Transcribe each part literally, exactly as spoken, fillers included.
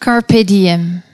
Carpe diem.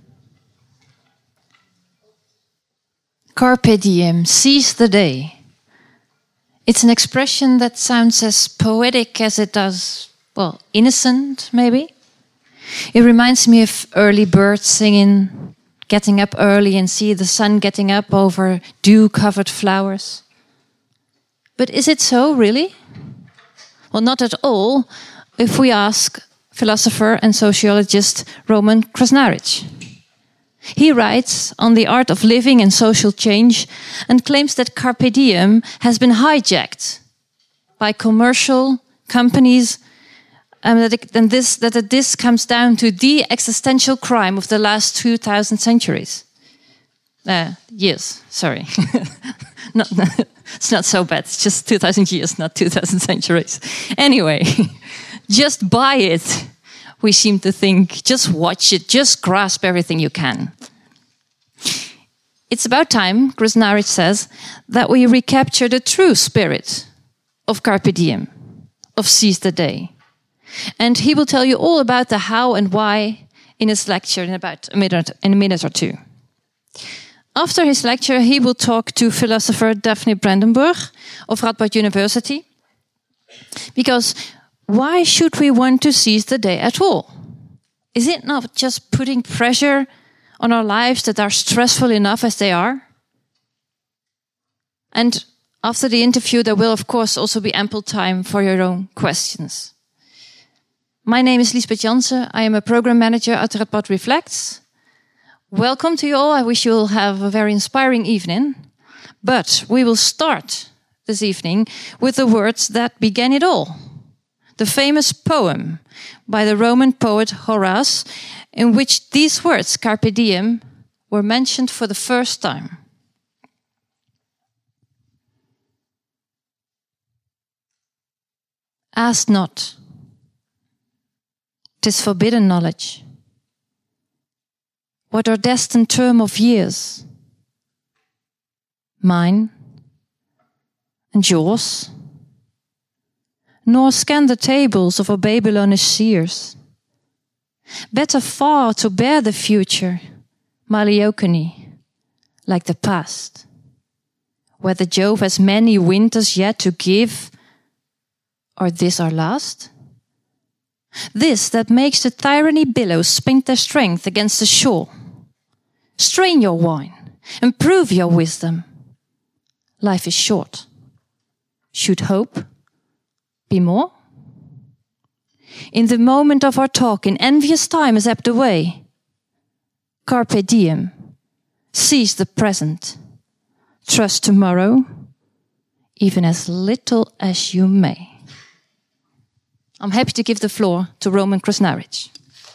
Carpe diem, seize the day. It's an expression that sounds as poetic as it does, well, innocent, maybe. It reminds me of early birds singing, getting up early and see the sun getting up over dew-covered flowers. But is it so, really? Well, not at all, if we ask philosopher and sociologist Roman Krasnaric. He writes on the art of living and social change and claims that carpe diem has been hijacked by commercial companies, and that, it, and this, that this comes down to the existential crime of the last two thousand centuries. Uh, years, sorry. not, not, it's not so bad, it's just two thousand years, not two thousand centuries. Anyway, just buy it. We seem to think, just watch it, just grasp everything you can. It's about time, Krasnaric says, that we recapture the true spirit of Carpe Diem, of Seize the Day. And he will tell you all about the how and why in his lecture in about a minute, in a minute or two. After his lecture, he will talk to philosopher Daphne Brandenburg of Radboud University, because why should we want to seize the day at all? Is it not just putting pressure on our lives that are stressful enough as they are? And after the interview, there will, of course, also be ample time for your own questions. My name is Liesbeth Jansen. I am a program manager at Radboud Reflects. Welcome to you all. I wish you will have a very inspiring evening. But we will start this evening with the words that began it all. The famous poem by the Roman poet Horace, in which these words, carpe diem, were mentioned for the first time. Ask not. 'Tis forbidden knowledge. What our destined term of years? Mine and yours? Nor scan the tables of our Babylonish seers. Better far to bear the future, Maliocony, like the past, whether Jove has many winters yet to give, or this our last? This that makes the tyranny billows spink their strength against the shore. Strain your wine and prove your wisdom. Life is short. Should hope be more? In the moment of our talk, in envious time is ebbed away. Carpe diem, seize the present. Trust tomorrow, even as little as you may. I'm happy to give the floor to Roman Krasnaric.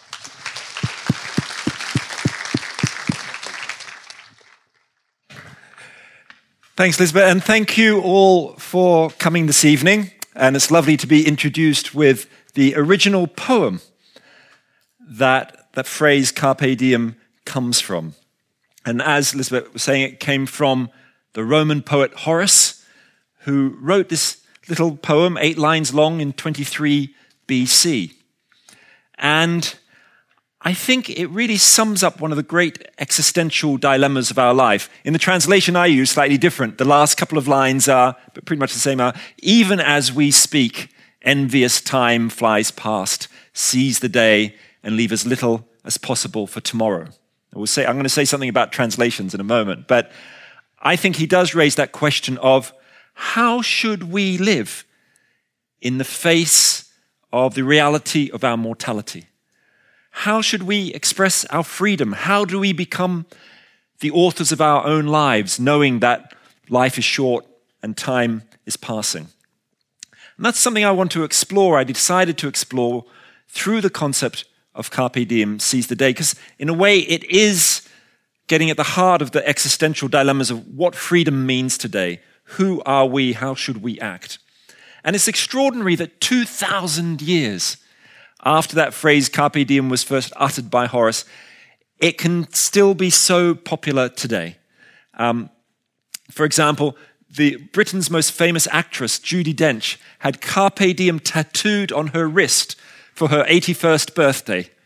Thanks, Lisbeth, and thank you all for coming this evening. And it's lovely to be introduced with the original poem that that phrase carpe diem comes from. And as Lisbeth was saying, it came from the Roman poet Horace, who wrote this little poem, eight lines long, in twenty-three B C. And I think it really sums up one of the great existential dilemmas of our life. In the translation I use, slightly different. The last couple of lines are, but pretty much the same, are, even as we speak, envious time flies past, seize the day and leave as little as possible for tomorrow. I will say, I'm going to say something about translations in a moment, but I think he does raise that question of how should we live in the face of the reality of our mortality? How should we express our freedom? How do we become the authors of our own lives, knowing that life is short and time is passing? And that's something I want to explore. I decided to explore through the concept of carpe diem, seize the day, because in a way it is getting at the heart of the existential dilemmas of what freedom means today. Who are we? How should we act? And it's extraordinary that two thousand years after that phrase carpe diem was first uttered by Horace, it can still be so popular today. Um, for example, the Britain's most famous actress, Judi Dench, had carpe diem tattooed on her wrist for her eighty-first birthday.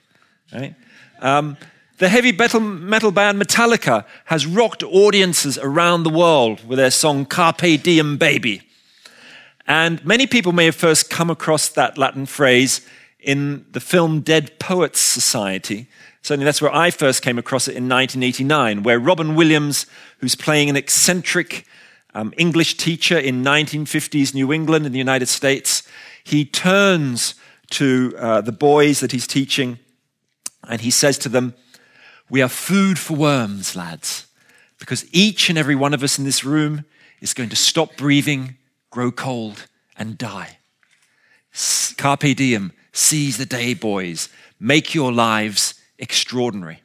right? Um, the heavy metal, metal band Metallica has rocked audiences around the world with their song Carpe Diem Baby. And many people may have first come across that Latin phrase in the film Dead Poets Society. Certainly that's where I first came across it in nineteen eighty-nine, where Robin Williams, who's playing an eccentric um, English teacher in nineteen fifties New England in the United States, he turns to uh, the boys that he's teaching and he says to them, "We are food for worms, lads, because each and every one of us in this room is going to stop breathing, grow cold, and die. Carpe diem, seize the day, boys. Make your lives extraordinary."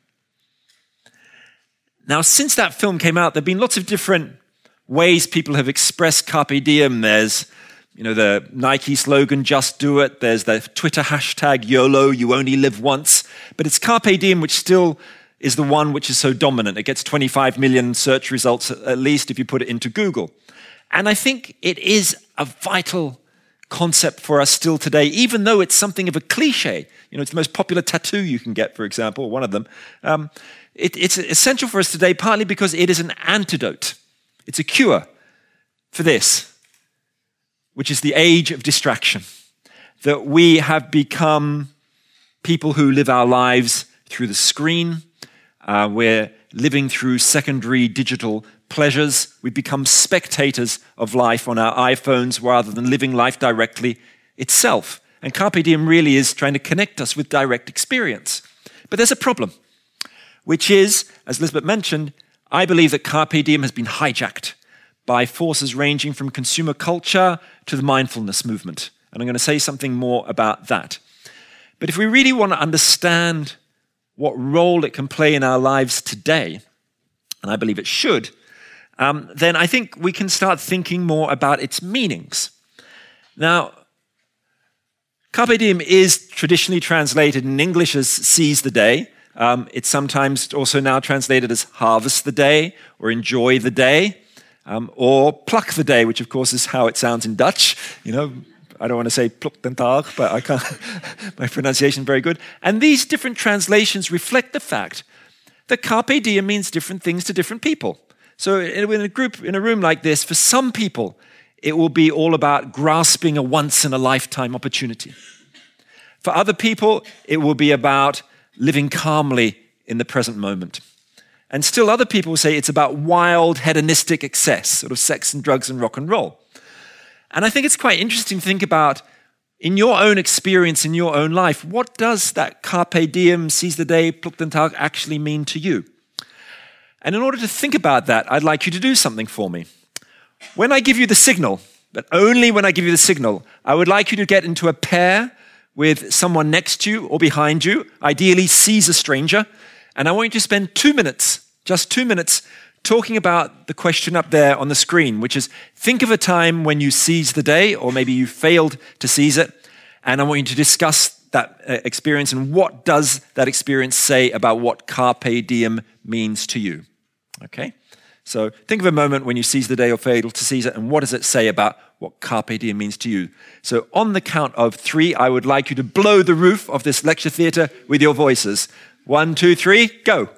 Now, since that film came out, there have been lots of different ways people have expressed carpe diem. There's, you know, the Nike slogan, "Just do it." There's the Twitter hashtag, YOLO, you only live once. But it's carpe diem, which still is the one which is so dominant. It gets twenty-five million search results, at least if you put it into Google. And I think it is a vital concept for us still today, even though it's something of a cliche. You know, it's the most popular tattoo you can get, for example, one of them. Um, it, it's essential for us today, partly because it is an antidote. It's a cure for this, which is the age of distraction. That we have become people who live our lives through the screen. Uh, we're living through secondary digital pleasures. We become spectators of life on our iPhones rather than living life directly itself. And Carpe Diem really is trying to connect us with direct experience. But there's a problem, which is, as Elizabeth mentioned, I believe that Carpe Diem has been hijacked by forces ranging from consumer culture to the mindfulness movement. And I'm going to say something more about that. But if we really want to understand what role it can play in our lives today, and I believe it should, um, then I think we can start thinking more about its meanings. Now, Carpe Diem is traditionally translated in English as seize the day. Um, it's sometimes also now translated as harvest the day or enjoy the day um, or pluck the day, which of course is how it sounds in Dutch. You know, I don't want to say pluk den dag, but I can't. My pronunciation is very good. And these different translations reflect the fact that Carpe Diem means different things to different people. So in a group, in a room like this, for some people, it will be all about grasping a once-in-a-lifetime opportunity. For other people, it will be about living calmly in the present moment. And still other people will say it's about wild, hedonistic excess, sort of sex and drugs and rock and roll. And I think it's quite interesting to think about, in your own experience, in your own life, what does that Carpe Diem, seize the day, pluk den Tag actually mean to you? And in order to think about that, I'd like you to do something for me. When I give you the signal, but only when I give you the signal, I would like you to get into a pair with someone next to you or behind you, ideally seize a stranger, and I want you to spend two minutes, just two minutes, talking about the question up there on the screen, which is, think of a time when you seized the day, or maybe you failed to seize it, and I want you to discuss that uh, experience and what does that experience say about what Carpe Diem means to you. Okay? So think of a moment when you seized the day or failed to seize it, and what does it say about what Carpe Diem means to you? So on the count of three, I would like you to blow the roof of this lecture theatre with your voices. One, two, three, go.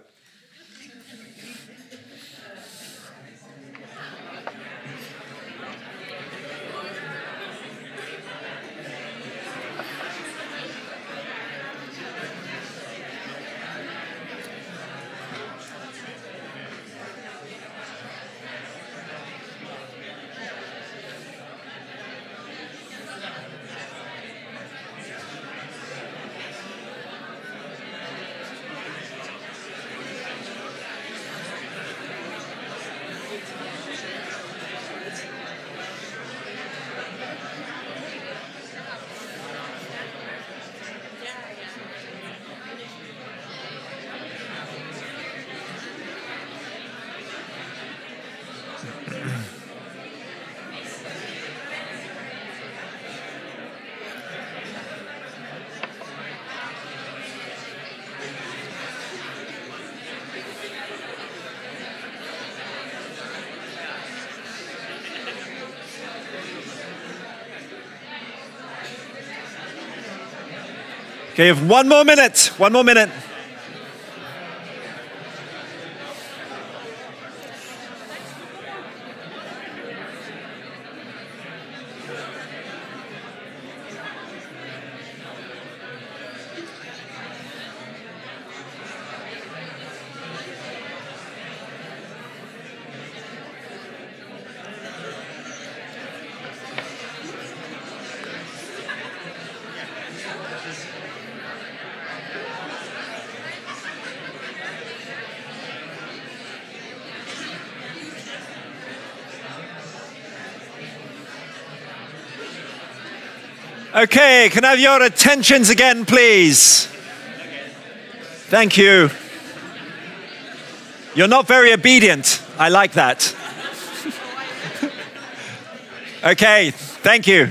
Okay, you have one more minute. One more minute. Okay, can I have your attentions again, please? Thank you. You're not very obedient. I like that. Okay, thank you.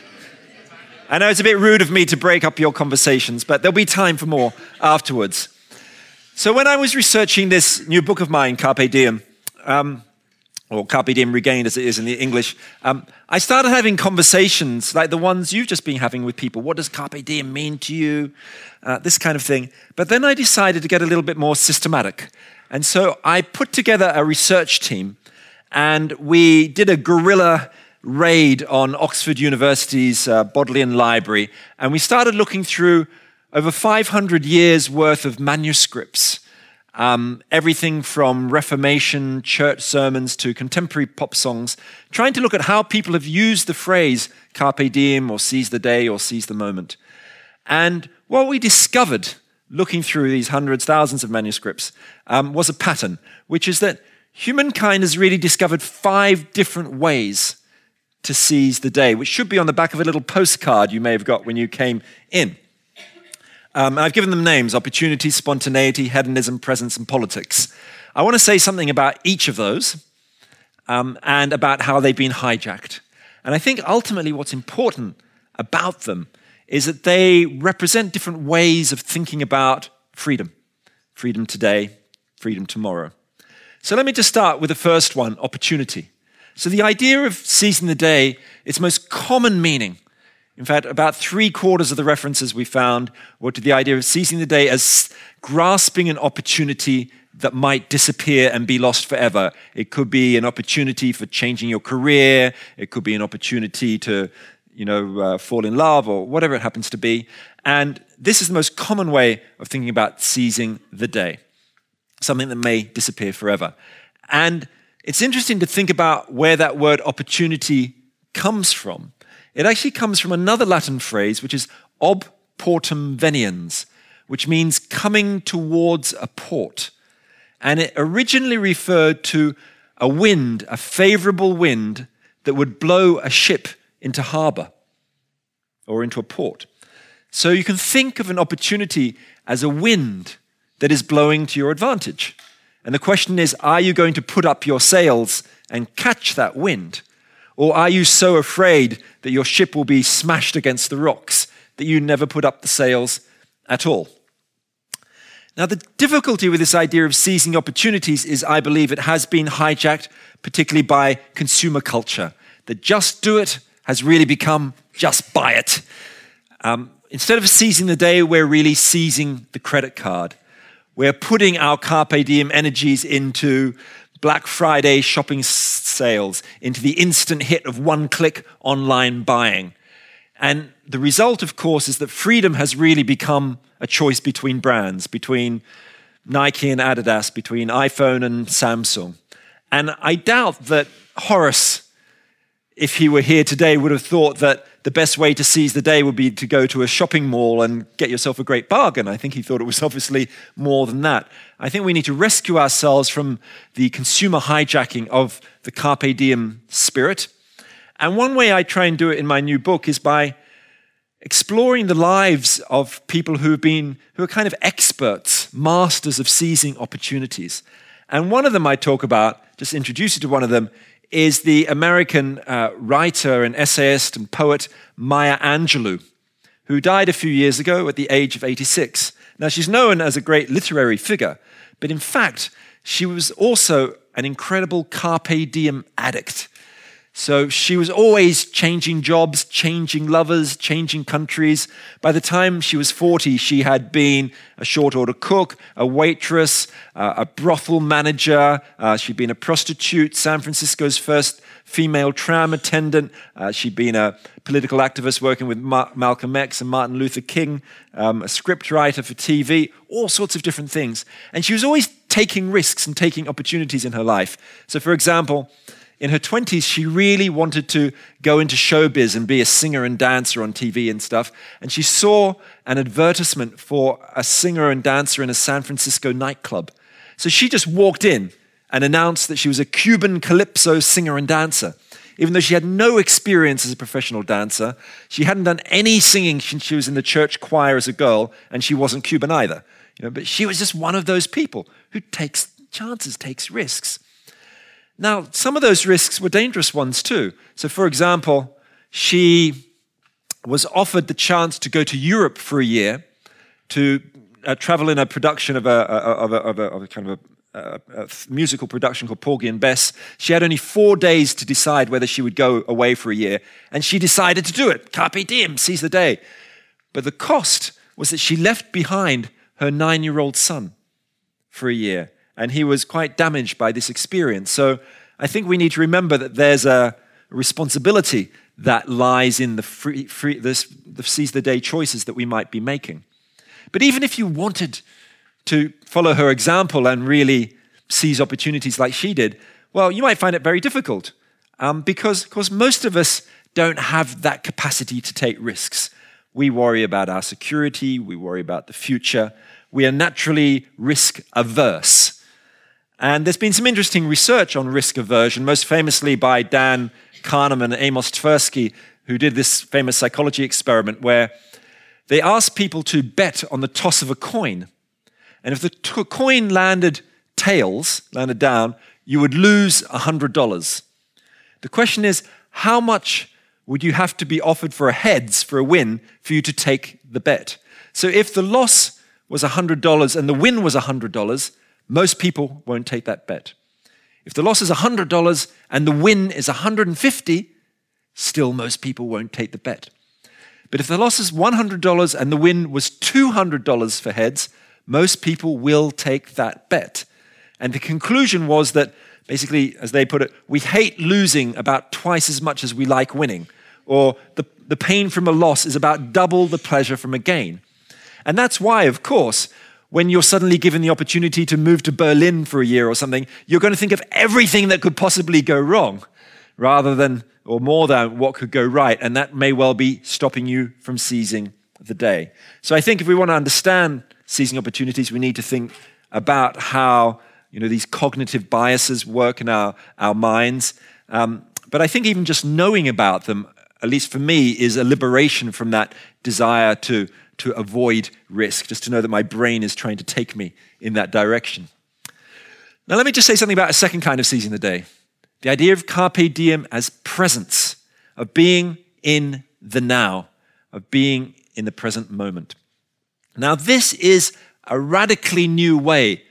I know it's a bit rude of me to break up your conversations, but there'll be time for more afterwards. So when I was researching this new book of mine, Carpe Diem, um, or Carpe Diem Regained as it is in the English, um, I started having conversations like the ones you've just been having with people. What does Carpe Diem mean to you? Uh, this kind of thing. But then I decided to get a little bit more systematic. And so I put together a research team and we did a guerrilla raid on Oxford University's uh, Bodleian Library. And we started looking through over five hundred years worth of manuscripts. Um, everything from Reformation church sermons to contemporary pop songs, trying to look at how people have used the phrase carpe diem or seize the day or seize the moment. And what we discovered, looking through these hundreds, thousands of manuscripts, um, was a pattern, which is that humankind has really discovered five different ways to seize the day, which should be on the back of a little postcard you may have got when you came in. Um, I've given them names: opportunity, spontaneity, hedonism, presence, and politics. I want to say something about each of those um, and about how they've been hijacked. And I think ultimately what's important about them is that they represent different ways of thinking about freedom. Freedom today, freedom tomorrow. So let me just start with the first one, opportunity. So the idea of seizing the day, its most common meaning, in fact, about three quarters of the references we found were to the idea of seizing the day as grasping an opportunity that might disappear and be lost forever. It could be an opportunity for changing your career. It could be an opportunity to, you know, uh, fall in love or whatever it happens to be. And this is the most common way of thinking about seizing the day, something that may disappear forever. And it's interesting to think about where that word opportunity comes from. It actually comes from another Latin phrase, which is ob portum veniens, which means coming towards a port. And it originally referred to a wind, a favorable wind that would blow a ship into harbor or into a port. So you can think of an opportunity as a wind that is blowing to your advantage. And the question is, are you going to put up your sails and catch that wind? Or are you so afraid that your ship will be smashed against the rocks that you never put up the sails at all? Now, the difficulty with this idea of seizing opportunities is, I believe, it has been hijacked, particularly by consumer culture. The just do it has really become just buy it. Um, instead of seizing the day, we're really seizing the credit card. We're putting our carpe diem energies into Black Friday shopping sales, into the instant hit of one-click online buying. And the result, of course, is that freedom has really become a choice between brands, between Nike and Adidas, between iPhone and Samsung. And I doubt that Horace, if he were here today, would have thought that the best way to seize the day would be to go to a shopping mall and get yourself a great bargain. I think he thought it was obviously more than that. I think we need to rescue ourselves from the consumer hijacking of the carpe diem spirit. And one way I try and do it in my new book is by exploring the lives of people who have been, who are kind of experts, masters of seizing opportunities. And one of them I talk about, just introduce you to one of them, is the American uh, writer and essayist and poet Maya Angelou, who died a few years ago at the age of eighty-six. Now, she's known as a great literary figure, but in fact, she was also an incredible carpe diem addict. So she was always changing jobs, changing lovers, changing countries. By the time she was forty, she had been a short order cook, a waitress, uh, a brothel manager. Uh, she'd been a prostitute, San Francisco's first female tram attendant. Uh, she'd been a political activist working with Ma- Malcolm X and Martin Luther King, um, a scriptwriter for T V, all sorts of different things. And she was always taking risks and taking opportunities in her life. So for example, in her twenties, she really wanted to go into showbiz and be a singer and dancer on T V and stuff. And she saw an advertisement for a singer and dancer in a San Francisco nightclub. So she just walked in and announced that she was a Cuban calypso singer and dancer. Even though she had no experience as a professional dancer, she hadn't done any singing since she was in the church choir as a girl, and she wasn't Cuban either. You know, but she was just one of those people who takes chances, takes risks. Now, some of those risks were dangerous ones too. So, for example, she was offered the chance to go to Europe for a year to uh, travel in a production of a, of a, of a, of a kind of a, a, a musical production called Porgy and Bess. She had only four days to decide whether she would go away for a year, and she decided to do it. Carpe diem, seize the day. But the cost was that she left behind her nine-year-old son for a year. And he was quite damaged by this experience. So I think we need to remember that there's a responsibility that lies in the, free, free, this, the seize the day choices that we might be making. But even if you wanted to follow her example and really seize opportunities like she did, well, you might find it very difficult um, because, of course, most of us don't have that capacity to take risks. We worry about our security. We worry about the future. We are naturally risk averse. And there's been some interesting research on risk aversion, most famously by Dan Kahneman and Amos Tversky, who did this famous psychology experiment where they asked people to bet on the toss of a coin. And if the t- coin landed tails, landed down, you would lose one hundred dollars. The question is, how much would you have to be offered for a heads, for a win, for you to take the bet? So if the loss was one hundred dollars and the win was one hundred dollars, most people won't take that bet. If the loss is one hundred dollars and the win is one hundred fifty dollars, still most people won't take the bet. But if the loss is one hundred dollars and the win was two hundred dollars for heads, most people will take that bet. And the conclusion was that, basically, as they put it, we hate losing about twice as much as we like winning. Or the, the pain from a loss is about double the pleasure from a gain. And that's why, of course, when you're suddenly given the opportunity to move to Berlin for a year or something, you're going to think of everything that could possibly go wrong rather than, or more than, what could go right. And that may well be stopping you from seizing the day. So I think if we want to understand seizing opportunities, we need to think about how, you know, these cognitive biases work in our, our minds. Um, but I think even just knowing about them, at least for me, is a liberation from that desire to to avoid risk, just to know that my brain is trying to take me in that direction. Now, let me just say something about a second kind of seizing the day. The idea of carpe diem as presence, of being in the now, of being in the present moment. Now, this is a radically new way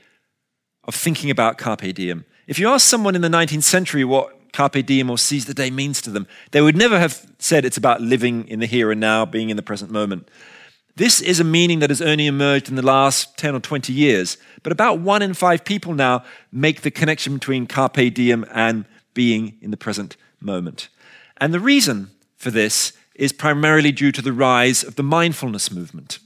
of thinking about carpe diem. If you ask someone in the nineteenth century what carpe diem or seize the day means to them, they would never have said it's about living in the here and now, being in the present moment. This is a meaning that has only emerged in the last ten or twenty years, but about one in five people now make the connection between carpe diem and being in the present moment. And the reason for this is primarily due to the rise of the mindfulness movement.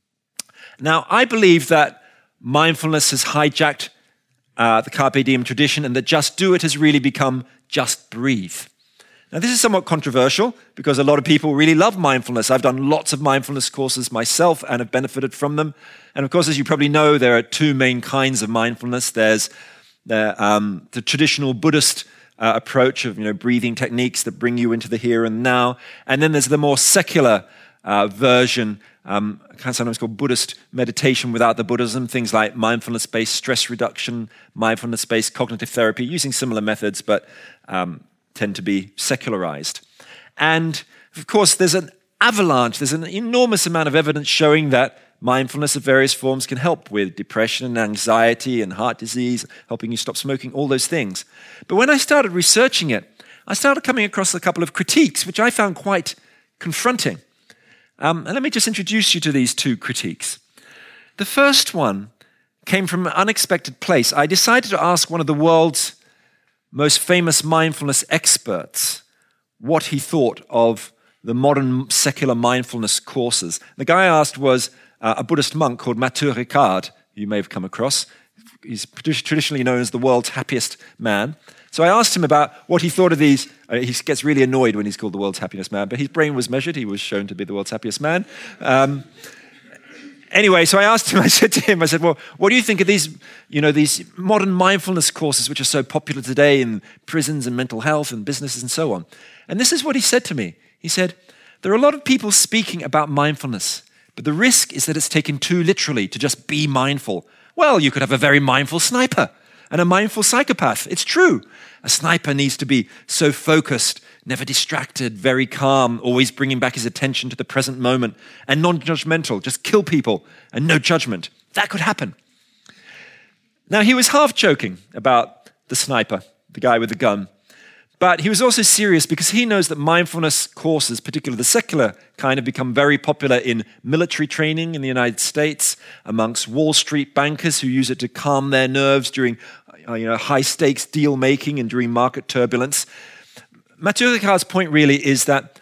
Now, I believe that mindfulness has hijacked uh, the carpe diem tradition, and that just do it has really become just breathe. Now, this is somewhat controversial because a lot of people really love mindfulness. I've done lots of mindfulness courses myself and have benefited from them. And of course, as you probably know, there are two main kinds of mindfulness. There's the, um, the traditional Buddhist uh, approach of, you know, breathing techniques that bring you into the here and now. And then there's the more secular uh, version, um, kind of sometimes called Buddhist meditation without the Buddhism, things like mindfulness-based stress reduction, mindfulness-based cognitive therapy, using similar methods, but um, tend to be secularized. And of course, there's an avalanche, there's an enormous amount of evidence showing that mindfulness of various forms can help with depression and anxiety and heart disease, helping you stop smoking, all those things. But when I started researching it, I started coming across a couple of critiques, which I found quite confronting. Um, and let me just introduce you to these two critiques. The first one came from an unexpected place. I decided to ask one of the world's most famous mindfulness experts what he thought of the modern secular mindfulness courses. The guy I asked was uh, a Buddhist monk called Matthieu Ricard, you may have come across. He's traditionally known as the world's happiest man. So I asked him about what he thought of these. Uh, he gets really annoyed when he's called the world's happiest man, but his brain was measured. He was shown to be the world's happiest man. Um, anyway, so I asked him, I said to him, I said, well, what do you think of these, you know, these modern mindfulness courses which are so popular today in prisons and mental health and businesses and so on? And this is what he said to me. He said, there are a lot of people speaking about mindfulness, but the risk is that it's taken too literally to just be mindful. Well, you could have a very mindful sniper and a mindful psychopath. It's true. A sniper needs to be so focused, never distracted, very calm, always bringing back his attention to the present moment, and non-judgmental, just kill people and no judgment. That could happen. Now, he was half joking about the sniper, the guy with the gun, but he was also serious because he knows that mindfulness courses, particularly the secular kind, have become very popular in military training in the United States, amongst Wall Street bankers who use it to calm their nerves during uh, you know, high-stakes deal-making and during market turbulence. Matthieu Ricard's point really is that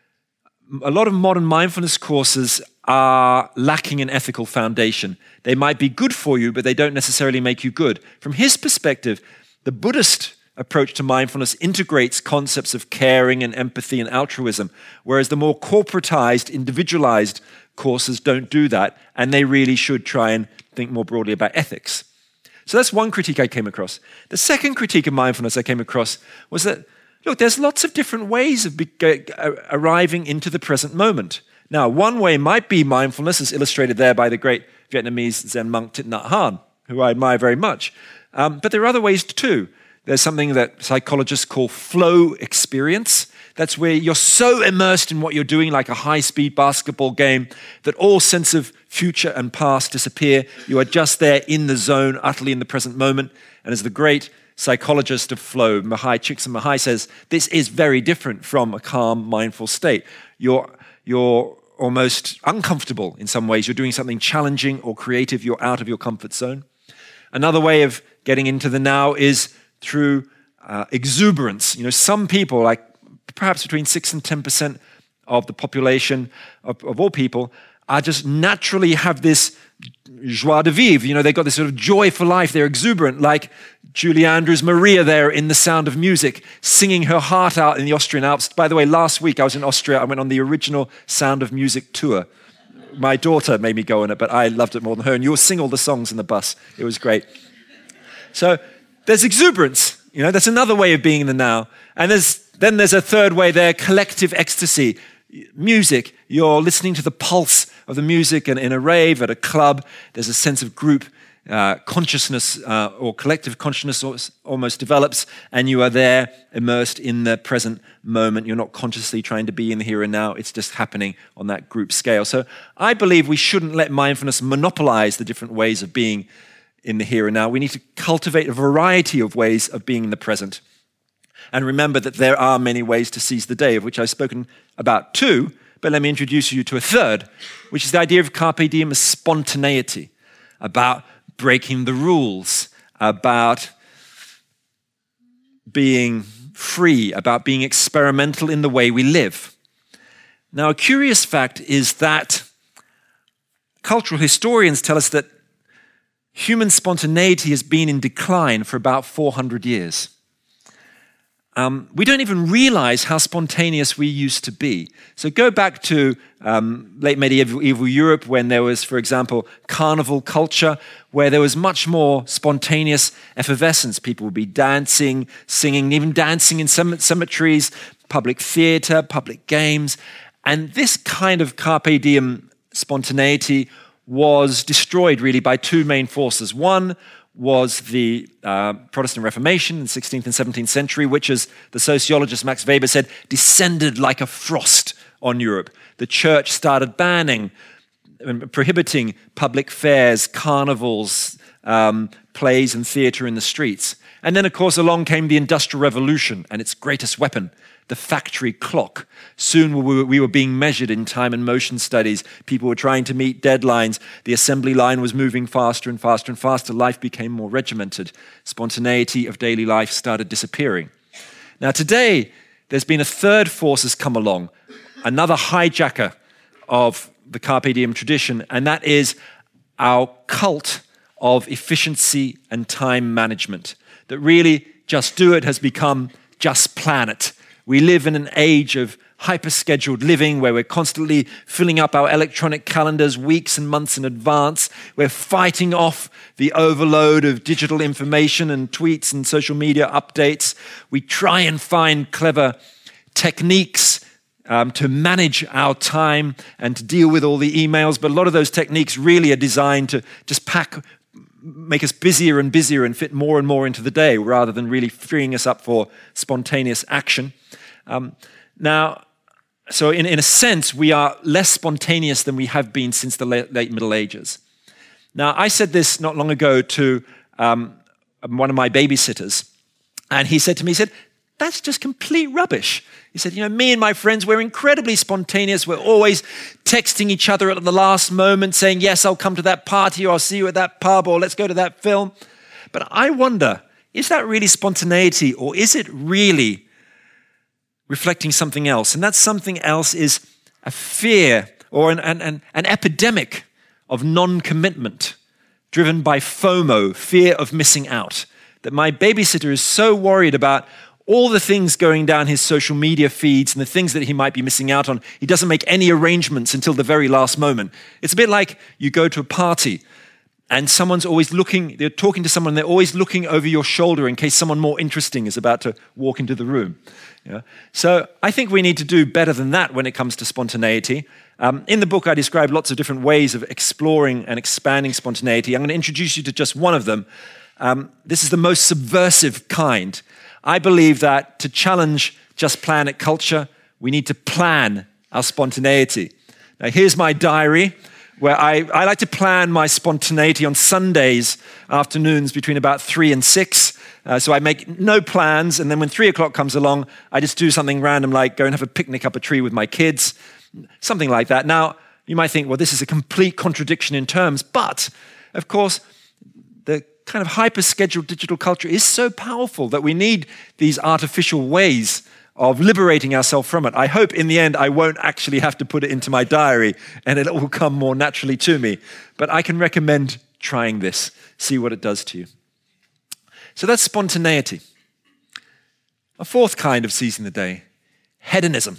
a lot of modern mindfulness courses are lacking an ethical foundation. They might be good for you, but they don't necessarily make you good. From his perspective, the Buddhist approach to mindfulness integrates concepts of caring and empathy and altruism, whereas the more corporatized, individualized courses don't do that, and they really should try and think more broadly about ethics. So that's one critique I came across. The second critique of mindfulness I came across was that, look, there's lots of different ways of be- uh, arriving into the present moment. Now, one way might be mindfulness, as illustrated there by the great Vietnamese Zen monk Thich Nhat Hanh, who I admire very much. Um, but there are other ways too. There's something that psychologists call flow experience. That's where you're so immersed in what you're doing, like a high-speed basketball game, that all sense of future and past disappear. You are just there in the zone, utterly in the present moment. And as the great psychologist of flow, Mahai Csikszentmihalyi, says, this is very different from a calm, mindful state. You're, you're almost uncomfortable in some ways. You're doing something challenging or creative. You're out of your comfort zone. Another way of getting into the now is through uh, exuberance. You know, some people, like perhaps between six and ten percent of the population of, of all people, are just naturally have this joie de vivre. You know, they've got this sort of joy for life. They're exuberant, like Julie Andrews Maria there in The Sound of Music, singing her heart out in the Austrian Alps. By the way, last week I was in Austria. I went on the original Sound of Music tour. My daughter made me go on it, but I loved it more than her. And you'll sing all the songs in the bus. It was great. So there's exuberance, you know, that's another way of being in the now. And there's then there's a third way there, collective ecstasy. Music, you're listening to the pulse of the music, and in a rave, at a club, there's a sense of group uh, consciousness uh, or collective consciousness almost develops, and you are there immersed in the present moment. You're not consciously trying to be in the here and now. It's just happening on that group scale. So I believe we shouldn't let mindfulness monopolize the different ways of being in the here and now. We need to cultivate a variety of ways of being in the present. And remember that there are many ways to seize the day, of which I've spoken about two, but let me introduce you to a third, which is the idea of carpe diem as spontaneity, about breaking the rules, about being free, about being experimental in the way we live. Now, a curious fact is that cultural historians tell us that human spontaneity has been in decline for about four hundred years. Um, we don't even realize how spontaneous we used to be. So go back to um, late medieval Europe when there was, for example, carnival culture, where there was much more spontaneous effervescence. People would be dancing, singing, even dancing in cemeteries, public theater, public games. And this kind of carpe diem spontaneity was destroyed really by two main forces. One was the uh, Protestant Reformation in the sixteenth and seventeenth century, which, as the sociologist Max Weber said, descended like a frost on Europe. The church started banning and prohibiting public fairs, carnivals, um, plays and theatre in the streets. And then, of course, along came the Industrial Revolution and its greatest weapon, the factory clock. Soon we were, we were being measured in time and motion studies. People were trying to meet deadlines. The assembly line was moving faster and faster and faster. Life became more regimented. Spontaneity of daily life started disappearing. Now today, there's been a third force has come along, another hijacker of the Carpe Diem tradition, and that is our cult of efficiency and time management. That really, just do it has become just plan it. We live in an age of hyper-scheduled living where we're constantly filling up our electronic calendars weeks and months in advance. We're fighting off the overload of digital information and tweets and social media updates. We try and find clever techniques um, to manage our time and to deal with all the emails, but a lot of those techniques really are designed to just pack make us busier and busier and fit more and more into the day rather than really freeing us up for spontaneous action. Um, now, so in, in a sense, we are less spontaneous than we have been since the late, late Middle Ages. Now, I said this not long ago to um, one of my babysitters, and he said to me, he said, that's just complete rubbish. He said, you know, me and my friends, we're incredibly spontaneous. We're always texting each other at the last moment saying, yes, I'll come to that party, or I'll see you at that pub, or let's go to that film. But I wonder, is that really spontaneity, or is it really reflecting something else? And that something else is a fear or an, an, an, an epidemic of non-commitment driven by FOMO, fear of missing out. That my babysitter is so worried about all the things going down his social media feeds and the things that he might be missing out on. He doesn't make any arrangements until the very last moment. It's a bit like you go to a party and someone's always looking, they're talking to someone, they're always looking over your shoulder in case someone more interesting is about to walk into the room. Yeah. So I think we need to do better than that when it comes to spontaneity. Um, in the book, I describe lots of different ways of exploring and expanding spontaneity. I'm going to introduce you to just one of them. Um, this is the most subversive kind. I believe that to challenge just plan it culture, we need to plan our spontaneity. Now, here's my diary, where I, I like to plan my spontaneity on Sundays afternoons between about three and six. Uh, so I make no plans, and then when three o'clock comes along, I just do something random like go and have a picnic up a tree with my kids, something like that. Now, you might think, well, this is a complete contradiction in terms, but, of course, the kind of hyper-scheduled digital culture is so powerful that we need these artificial ways of liberating ourselves from it. I hope in the end I won't actually have to put it into my diary and it'll all come more naturally to me. But I can recommend trying this, see what it does to you. So that's spontaneity. A fourth kind of seizing the day, hedonism.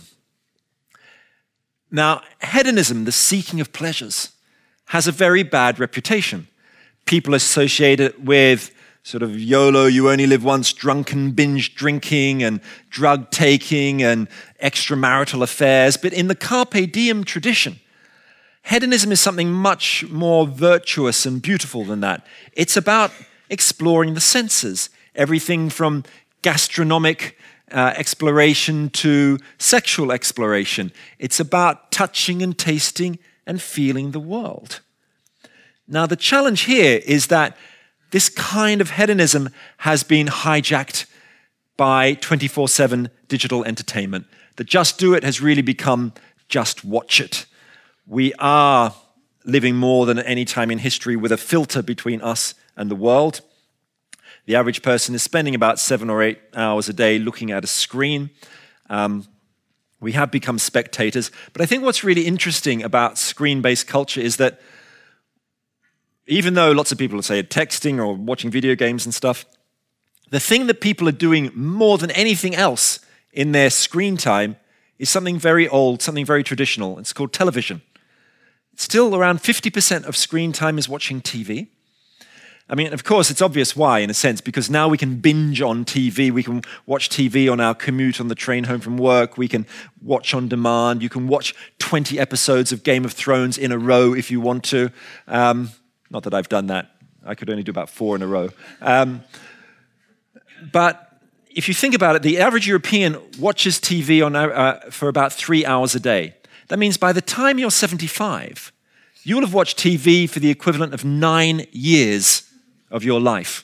Now, hedonism, the seeking of pleasures, has a very bad reputation. People associate it with sort of YOLO, you only live once, drunken binge drinking and drug taking and extramarital affairs. But in the Carpe Diem tradition, hedonism is something much more virtuous and beautiful than that. It's about exploring the senses, everything from gastronomic uh, exploration to sexual exploration. It's about touching and tasting and feeling the world. Now, the challenge here is that this kind of hedonism has been hijacked by twenty-four seven digital entertainment. The just do it has really become just watch it. We are living more than at any time in history with a filter between us and the world. The average person is spending about seven or eight hours a day looking at a screen. Um, we have become spectators. But I think what's really interesting about screen-based culture is that even though lots of people say texting or watching video games and stuff, the thing that people are doing more than anything else in their screen time is something very old, something very traditional. It's called television. Still around fifty percent of screen time is watching T V. I mean, of course, it's obvious why, in a sense, because now we can binge on T V. We can watch T V on our commute on the train home from work. We can watch on demand. You can watch twenty episodes of Game of Thrones in a row if you want to. Um, Not that I've done that. I could only do about four in a row. Um, but if you think about it, the average European watches T V on, uh, for about three hours a day. That means by the time you're seventy-five, you will have watched T V for the equivalent of nine years of your life.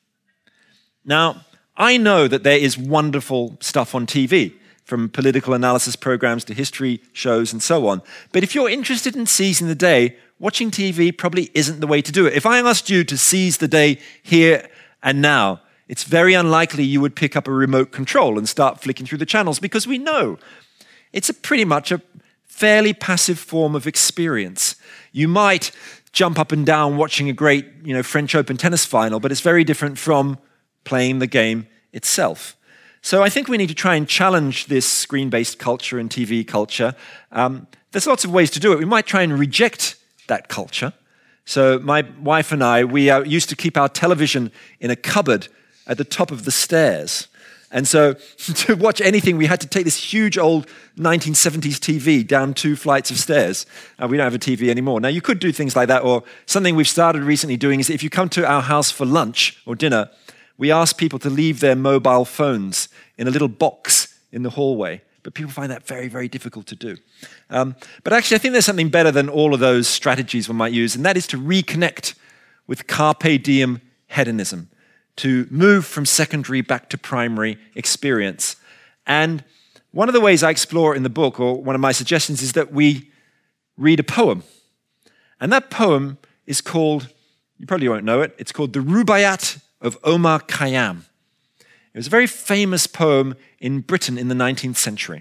Now, I know that there is wonderful stuff on T V, from political analysis programs to history shows and so on. But if you're interested in seizing the day, watching T V probably isn't the way to do it. If I asked you to seize the day here and now, it's very unlikely you would pick up a remote control and start flicking through the channels, because we know it's a pretty much a fairly passive form of experience. You might jump up and down watching a great, you know, French Open tennis final, but it's very different from playing the game itself. So I think we need to try and challenge this screen-based culture and T V culture. Um, there's lots of ways to do it. We might try and reject that culture. So my wife and I, we uh, used to keep our television in a cupboard at the top of the stairs. And so to watch anything, we had to take this huge old nineteen seventies T V down two flights of stairs. Uh, we don't have a T V anymore. Now, you could do things like that, or something we've started recently doing is if you come to our house for lunch or dinner, we ask people to leave their mobile phones in a little box in the hallway. But people find that very, very difficult to do. Um, but actually, I think there's something better than all of those strategies one might use, and that is to reconnect with carpe diem hedonism, to move from secondary back to primary experience. And one of the ways I explore it in the book, or one of my suggestions, is that we read a poem. And that poem is called, you probably won't know it, it's called The Rubaiyat of Omar Khayyam. It was a very famous poem in Britain in the nineteenth century.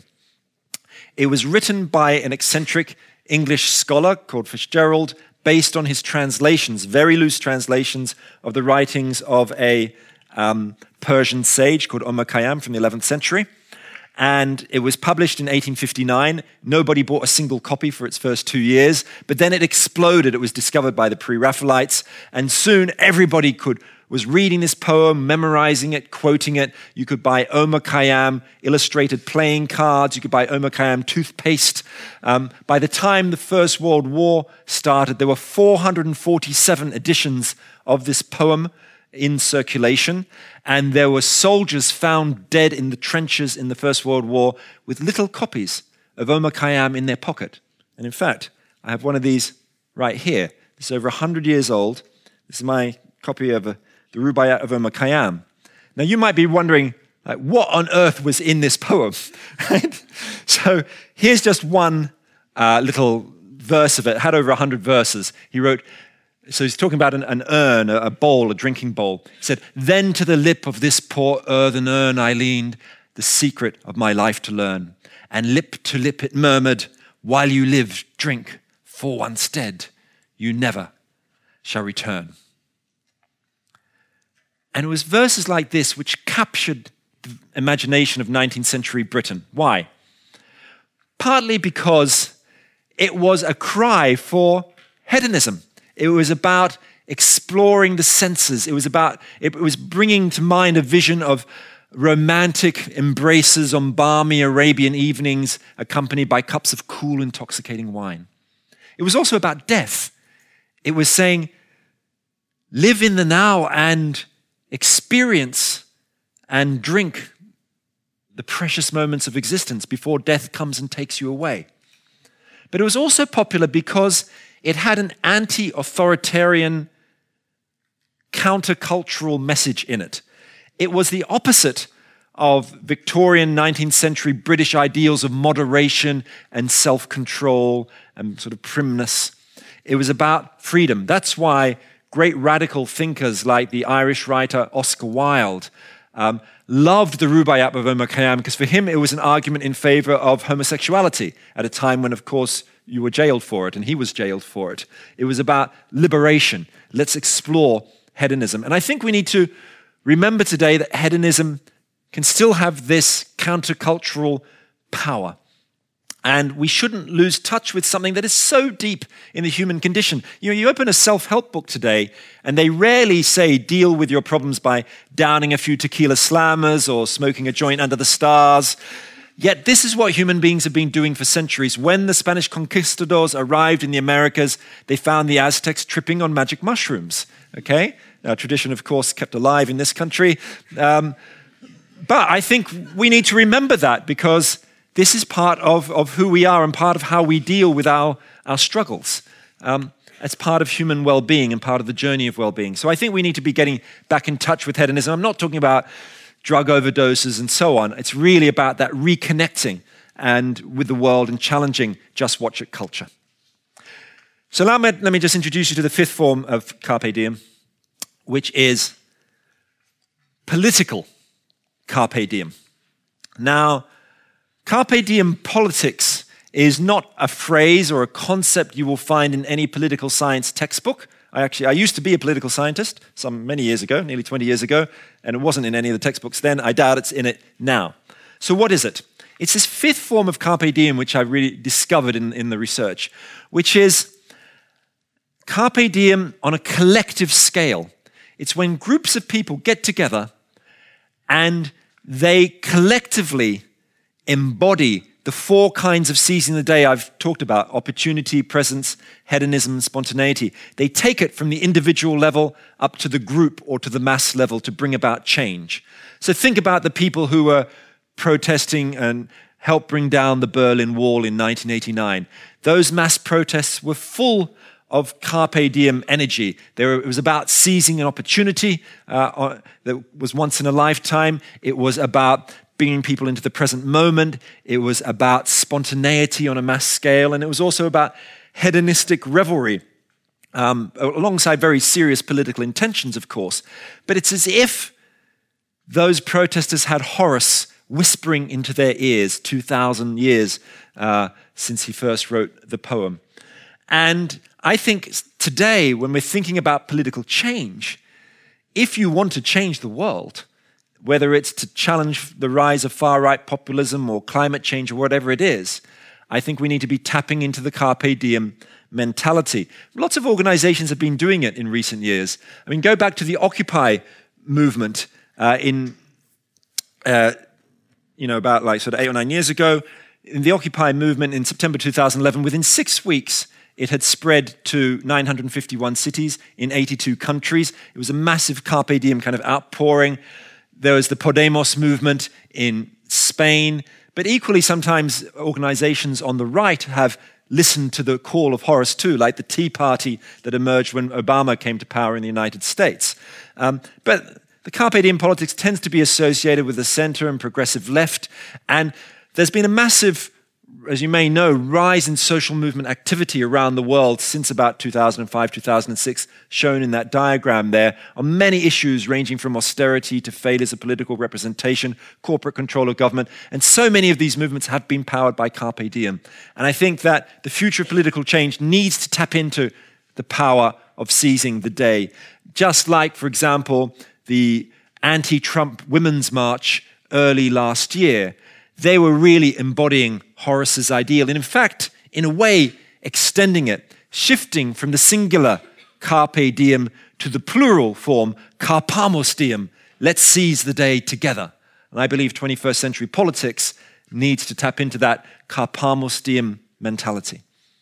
It was written by an eccentric English scholar called Fitzgerald, based on his translations, very loose translations of the writings of a um, Persian sage called Omar Khayyam from the eleventh century. And it was published in eighteen fifty-nine. Nobody bought a single copy for its first two years, but then it exploded. It was discovered by the Pre-Raphaelites, and soon everybody could was reading this poem, memorizing it, quoting it. You could buy Omar Khayyam illustrated playing cards. You could buy Omar Khayyam toothpaste. Um, by the time the First World War started, there were four hundred forty-seven editions of this poem in circulation, and there were soldiers found dead in the trenches in the First World War with little copies of Omar Khayyam in their pocket. And in fact, I have one of these right here. It's over one hundred years old. This is my copy of a The Rubaiyat of Omar Khayyam. Now, you might be wondering, like, what on earth was in this poem? Right? So here's just one uh, little verse of it. It had over one hundred verses. He wrote, so he's talking about an, an urn, a, a bowl, a drinking bowl. He said, "Then to the lip of this poor earthen urn I leaned, the secret of my life to learn. And lip to lip it murmured, while you live, drink, for once dead, you never shall return." And it was verses like this which captured the imagination of nineteenth century Britain. Why? Partly because it was a cry for hedonism. It was about exploring the senses. It was about, it was bringing to mind a vision of romantic embraces on balmy Arabian evenings, accompanied by cups of cool, intoxicating wine. It was also about death. It was saying, live in the now and experience and drink the precious moments of existence before death comes and takes you away. But it was also popular because it had an anti-authoritarian, countercultural message in it. It was the opposite of Victorian nineteenth century British ideals of moderation and self-control and sort of primness. It was about freedom. That's why great radical thinkers like the Irish writer Oscar Wilde um, loved the Rubaiyat of Omar Khayyam, because for him it was an argument in favor of homosexuality at a time when, of course, you were jailed for it, and he was jailed for it. It was about liberation. Let's explore hedonism. And I think we need to remember today that hedonism can still have this countercultural power. And we shouldn't lose touch with something that is so deep in the human condition. You know, you open a self-help book today, and they rarely say deal with your problems by downing a few tequila slammers or smoking a joint under the stars. Yet this is what human beings have been doing for centuries. When the Spanish conquistadors arrived in the Americas, they found the Aztecs tripping on magic mushrooms. Okay? Now, tradition, of course, kept alive in this country. Um, but I think we need to remember that, because this is part of, of who we are and part of how we deal with our, our struggles. Um, as part of human well-being and part of the journey of well-being. So I think we need to be getting back in touch with hedonism. I'm not talking about drug overdoses and so on. It's really about that reconnecting and with the world and challenging just watch it culture. So now let me just introduce you to the fifth form of Carpe Diem, which is political Carpe Diem. Now, Carpe Diem politics is not a phrase or a concept you will find in any political science textbook. I actually, I used to be a political scientist some many years ago, nearly twenty years ago, and it wasn't in any of the textbooks then. I doubt it's in it now. So what is it? It's this fifth form of Carpe Diem, which I really discovered in, in the research, which is Carpe Diem on a collective scale. It's when groups of people get together and they collectively embody the four kinds of seizing the day I've talked about: opportunity, presence, hedonism, spontaneity. They take it from the individual level up to the group or to the mass level to bring about change. So think about the people who were protesting and helped bring down the Berlin Wall in nineteen eighty-nine. Those mass protests were full of Carpe Diem energy. There, it was about seizing an opportunity uh, that was once in a lifetime. It was about bringing people into the present moment. It was about spontaneity on a mass scale. And it was also about hedonistic revelry, um, alongside very serious political intentions, of course. But it's as if those protesters had Horace whispering into their ears two thousand years uh, since he first wrote the poem. And I think today, when we're thinking about political change, if you want to change the world, whether it's to challenge the rise of far-right populism or climate change or whatever it is, I think we need to be tapping into the Carpe Diem mentality. Lots of organizations have been doing it in recent years. I mean, go back to the Occupy movement uh, in, uh, you know, about like sort of eight or nine years ago. In the Occupy movement in September two thousand eleven, within six weeks, it had spread to nine hundred fifty-one cities in eighty-two countries. It was a massive Carpe Diem kind of outpouring. There was the Podemos movement in Spain, but equally sometimes organizations on the right have listened to the call of Horace too, like the Tea Party that emerged when Obama came to power in the United States. Um, but the Carpe Diem politics tends to be associated with the center and progressive left, and there's been a massive, as you may know, rise in social movement activity around the world since about two thousand five, two thousand six, shown in that diagram there, on many issues ranging from austerity to failures of political representation, corporate control of government, and so many of these movements have been powered by Carpe Diem. And I think that the future of political change needs to tap into the power of seizing the day. Just like, for example, the anti-Trump Women's March early last year, they were really embodying Horace's ideal, and in fact, in a way, extending it, shifting from the singular Carpe Diem to the plural form Carpamos Diem, let's seize the day together. And I believe twenty-first century politics needs to tap into that Carpamos Diem mentality.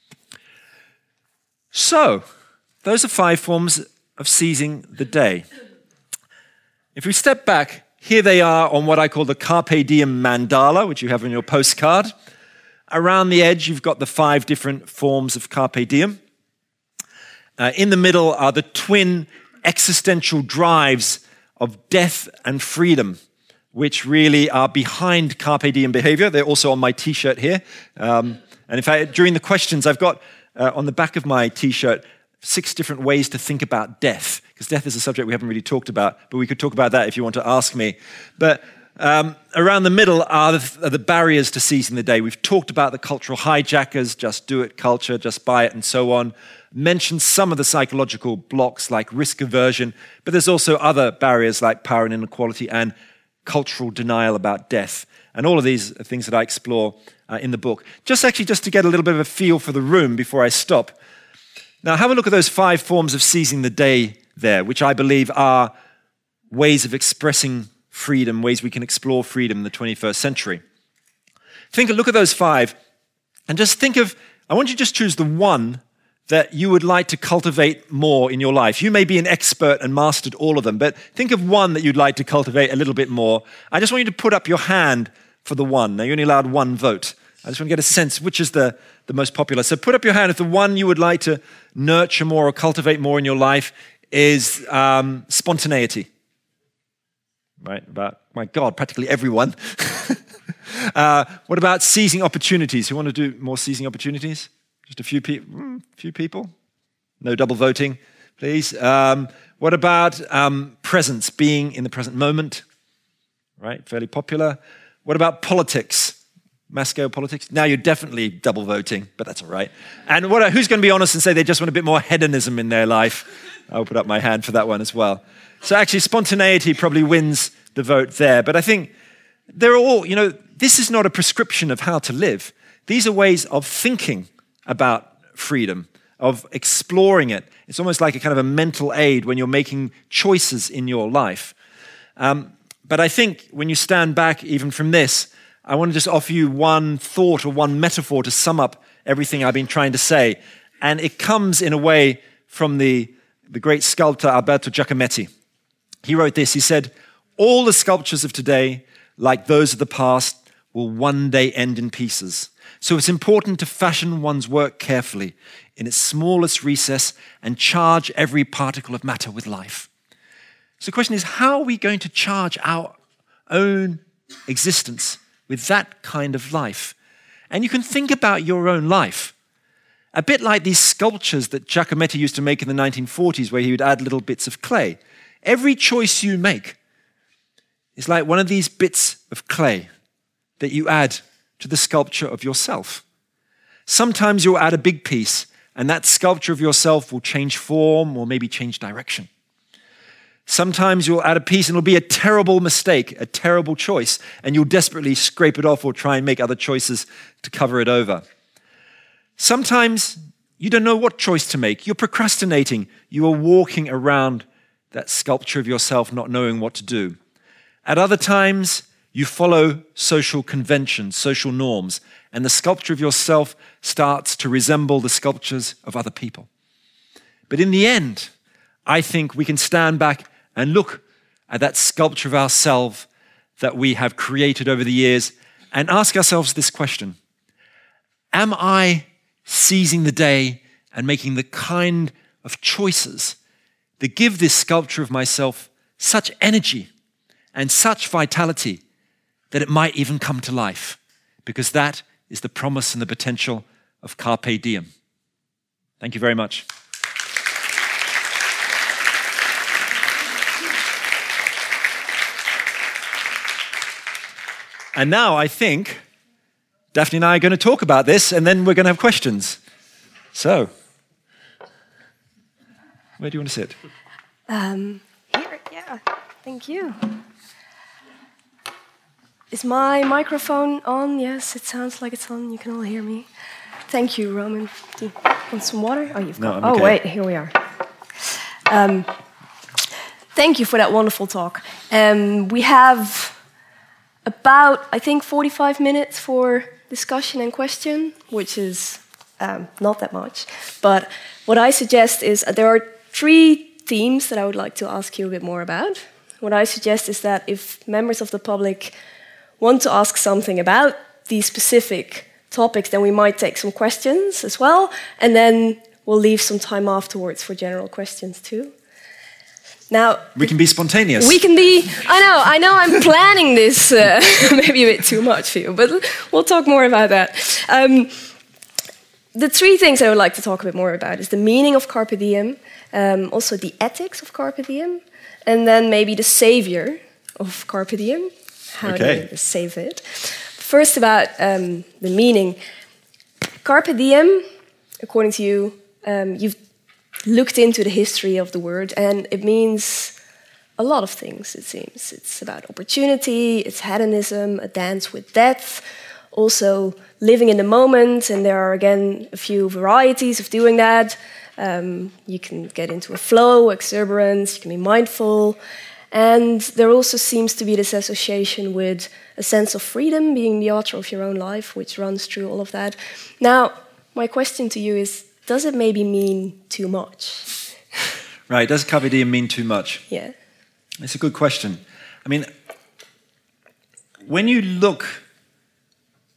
So, those are five forms of seizing the day. If we step back, here they are on what I call the Carpe Diem mandala, which you have on your postcard. Around the edge, you've got the five different forms of Carpe Diem. Uh, in the middle are the twin existential drives of death and freedom, which really are behind Carpe Diem behavior. They're also on my T-shirt here. Um, and in fact, during the questions, I've got uh, on the back of my T-shirt six different ways to think about death, because death is a subject we haven't really talked about, but we could talk about that if you want to ask me. But um, around the middle are the, are the barriers to seizing the day. We've talked about the cultural hijackers, just do it culture, just buy it, and so on. Mentioned some of the psychological blocks like risk aversion, but there's also other barriers like power and inequality and cultural denial about death. And all of these are things that I explore uh, in the book. Just actually just to get a little bit of a feel for the room before I stop. Now, have a look at those five forms of seizing the day there, which I believe are ways of expressing freedom, ways we can explore freedom in the twenty-first century. Think, look at those five, and just think of, I want you to just choose the one that you would like to cultivate more in your life. You may be an expert and mastered all of them, but think of one that you'd like to cultivate a little bit more. I just want you to put up your hand for the one. Now, you're only allowed one vote. I just want to get a sense, which is the, the most popular. So put up your hand if the one you would like to nurture more or cultivate more in your life is um, spontaneity. Right, about, my God, practically everyone. uh, what about seizing opportunities? Who want to do more seizing opportunities? Just a few, pe- mm, few people? No double voting, please. Um, what about um, presence, being in the present moment? Right, fairly popular. What about politics? Mass scale politics? Now you're definitely double voting, but that's all right. And what? Who's going to be honest and say they just want a bit more hedonism in their life? I'll put up my hand for that one as well. So actually spontaneity probably wins the vote there. But I think they're all, you know, this is not a prescription of how to live. These are ways of thinking about freedom, of exploring it. It's almost like a kind of a mental aid when you're making choices in your life. Um, but I think when you stand back even from this, I want to just offer you one thought or one metaphor to sum up everything I've been trying to say. And it comes in a way from the, the great sculptor Alberto Giacometti. He wrote this, he said, all the sculptures of today, like those of the past, will one day end in pieces. So it's important to fashion one's work carefully in its smallest recess and charge every particle of matter with life. So the question is, how are we going to charge our own existence with that kind of life? And you can think about your own life. A bit like these sculptures that Giacometti used to make in the nineteen forties, where he would add little bits of clay. Every choice you make is like one of these bits of clay that you add to the sculpture of yourself. Sometimes you'll add a big piece, and that sculpture of yourself will change form or maybe change direction. Sometimes you'll add a piece and it'll be a terrible mistake, a terrible choice, and you'll desperately scrape it off or try and make other choices to cover it over. Sometimes you don't know what choice to make. You're procrastinating. You are walking around that sculpture of yourself not knowing what to do. At other times, you follow social conventions, social norms, and the sculpture of yourself starts to resemble the sculptures of other people. But in the end, I think we can stand back and look at that sculpture of ourselves that we have created over the years and ask ourselves this question: am I seizing the day and making the kind of choices that give this sculpture of myself such energy and such vitality that it might even come to life? Because that is the promise and the potential of Carpe Diem. Thank you very much. And now I think Daphne and I are going to talk about this, and then we're going to have questions. So, where do you want to sit? Um, here, yeah. Thank you. Is my microphone on? Yes, it sounds like it's on. You can all hear me. Thank you, Roman. Do you want some water? Oh, you've got. No, I'm okay. Oh, wait. Here we are. Um, thank you for that wonderful talk. Um, we have about, I think, forty-five minutes for discussion and question, which is um, not that much. But what I suggest is uh, there are three themes that I would like to ask you a bit more about. What I suggest is that if members of the public want to ask something about these specific topics, then we might take some questions as well, and then we'll leave some time afterwards for general questions too. Now, we can be spontaneous. We can be, I know, I know I'm planning this uh, maybe a bit too much for you, but we'll talk more about that. Um, the three things I would like to talk a bit more about is the meaning of Carpe Diem, um, also the ethics of Carpe Diem, and then maybe the savior of Carpe Diem, how okay. to save it. First about um, the meaning. Carpe Diem, according to you, um, you've looked into the history of the word, and it means a lot of things, it seems. It's about opportunity, it's hedonism, a dance with death, also living in the moment, and there are, again, a few varieties of doing that. Um, you can get into a flow, exuberance, you can be mindful, and there also seems to be this association with a sense of freedom, being the author of your own life, which runs through all of that. Now, my question to you is, does it maybe mean too much? Right, does Carpe Diem mean too much? Yeah. It's a good question. I mean, when you look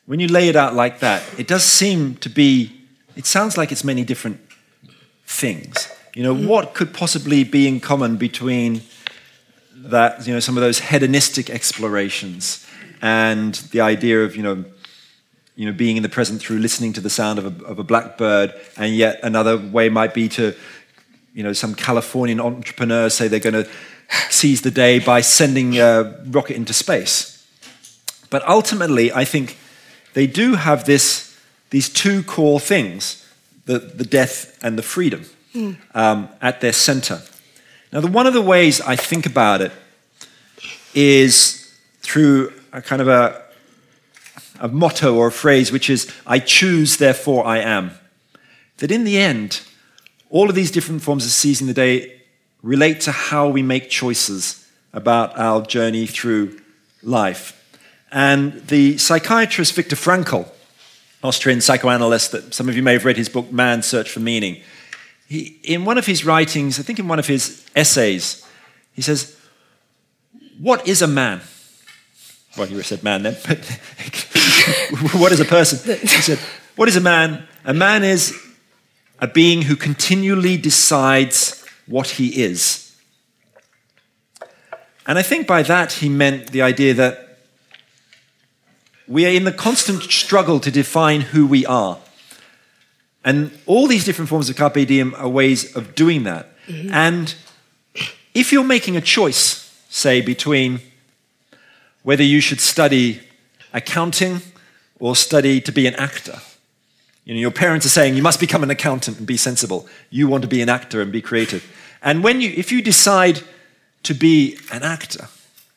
when you lay it out like that, it does seem to be, it sounds like it's many different things. You know, mm. what could possibly be in common between that, you know, some of those hedonistic explorations and the idea of, you know, you know, being in the present through listening to the sound of a, of a blackbird, and yet another way might be to, you know, some Californian entrepreneurs say they're going to seize the day by sending a rocket into space. But ultimately, I think they do have this, these two core things, the, the death and the freedom, mm. um, at their center. Now, the, one of the ways I think about it is through a kind of a a motto or a phrase, which is, I choose, therefore I am. That in the end, all of these different forms of seizing the day relate to how we make choices about our journey through life. And the psychiatrist Viktor Frankl, Austrian psychoanalyst, that some of you may have read his book, Man's Search for Meaning, he, in one of his writings, I think in one of his essays, he says, what is a man? Well, you said man then, but what is a person? He said, what is a man? A man is a being who continually decides what he is. And I think by that he meant the idea that we are in the constant struggle to define who we are. And all these different forms of carpe diem are ways of doing that. Mm-hmm. And if you're making a choice, say, between whether you should study accounting or study to be an actor. You know, your parents are saying you must become an accountant and be sensible. You want to be an actor and be creative. And when you, if you decide to be an actor,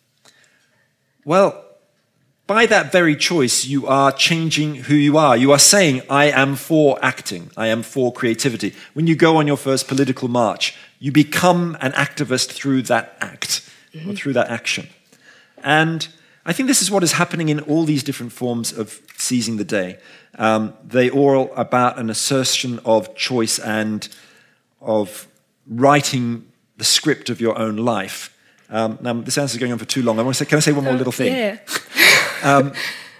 well, by that very choice, you are changing who you are. You are saying, I am for acting. I am for creativity. When you go on your first political march, you become an activist through that act, mm-hmm. or through that action. And I think this is what is happening in all these different forms of seizing the day. Um, they all are about an assertion of choice and of writing the script of your own life. Um, now, this answer is going on for too long. I want to say, can I say one more little thing? Yeah. um,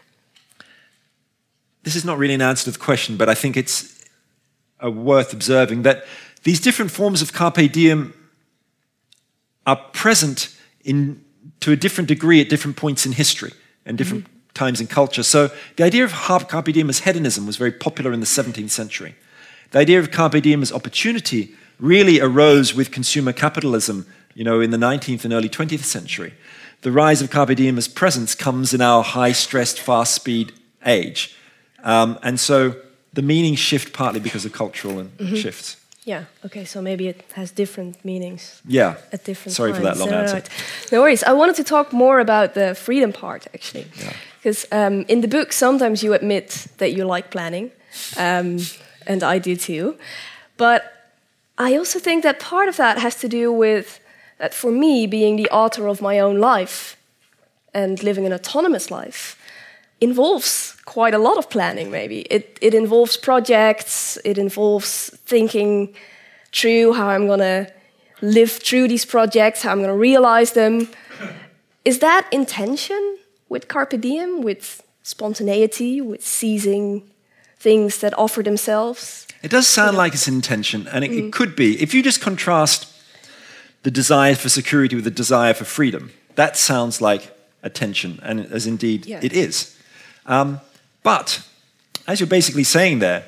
this is not really an answer to the question, but I think it's uh, worth observing that these different forms of carpe diem are present in to a different degree at different points in history and different mm-hmm. times in culture. So the idea of carpe diem as hedonism was very popular in the seventeenth century. The idea of carpe diem as opportunity really arose with consumer capitalism, you know, in the nineteenth and early twentieth century. The rise of carpe diem as presence comes in our high-stressed, fast-speed age. Um, and so the meanings shift partly because of cultural and mm-hmm. shifts. Yeah, okay, so maybe it has different meanings. Yeah, at different sorry times. for that long no, answer. No, no worries. I wanted to talk more about the freedom part, actually. Because yeah. um, in the book, sometimes you admit that you like planning, um, and I do too. But I also think that part of that has to do with that for me, being the author of my own life and living an autonomous life involves quite a lot of planning, maybe. It, it involves projects, it involves thinking through how I'm going to live through these projects, how I'm going to realize them. Is that intention with carpe diem, with spontaneity, with seizing things that offer themselves? It does sound like it's intention, and it, mm. it could be. If you just contrast the desire for security with the desire for freedom, that sounds like a tension, and as indeed yeah. it is. Um, but, as you're basically saying there,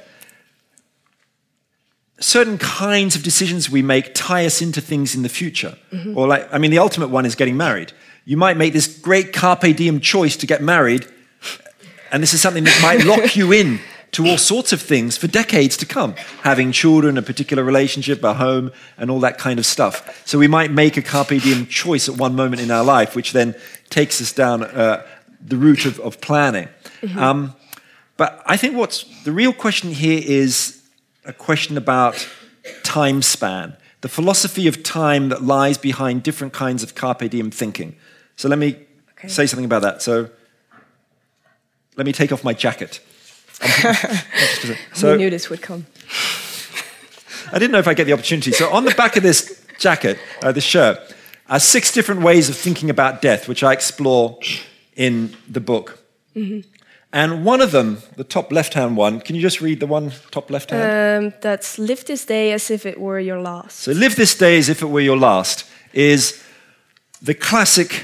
certain kinds of decisions we make tie us into things in the future. Mm-hmm. Or like, I mean, the ultimate one is getting married. You might make this great carpe diem choice to get married, and this is something that might lock you in to all sorts of things for decades to come. Having children, a particular relationship, a home, and all that kind of stuff. So we might make a carpe diem choice at one moment in our life, which then takes us down uh, the route of, of planning. Mm-hmm. Um, but I think what's the real question here is a question about time span, the philosophy of time that lies behind different kinds of carpe diem thinking. So let me okay. say something about that. So let me take off my jacket. So, we knew this would come. I didn't know if I'd get the opportunity. So on the back of this jacket, uh, this shirt, are six different ways of thinking about death, which I explore in the book. Mm-hmm. And one of them, the top left-hand one, can you just read the one top left-hand? Um, that's live this day as if it were your last. So live this day as if it were your last is the classic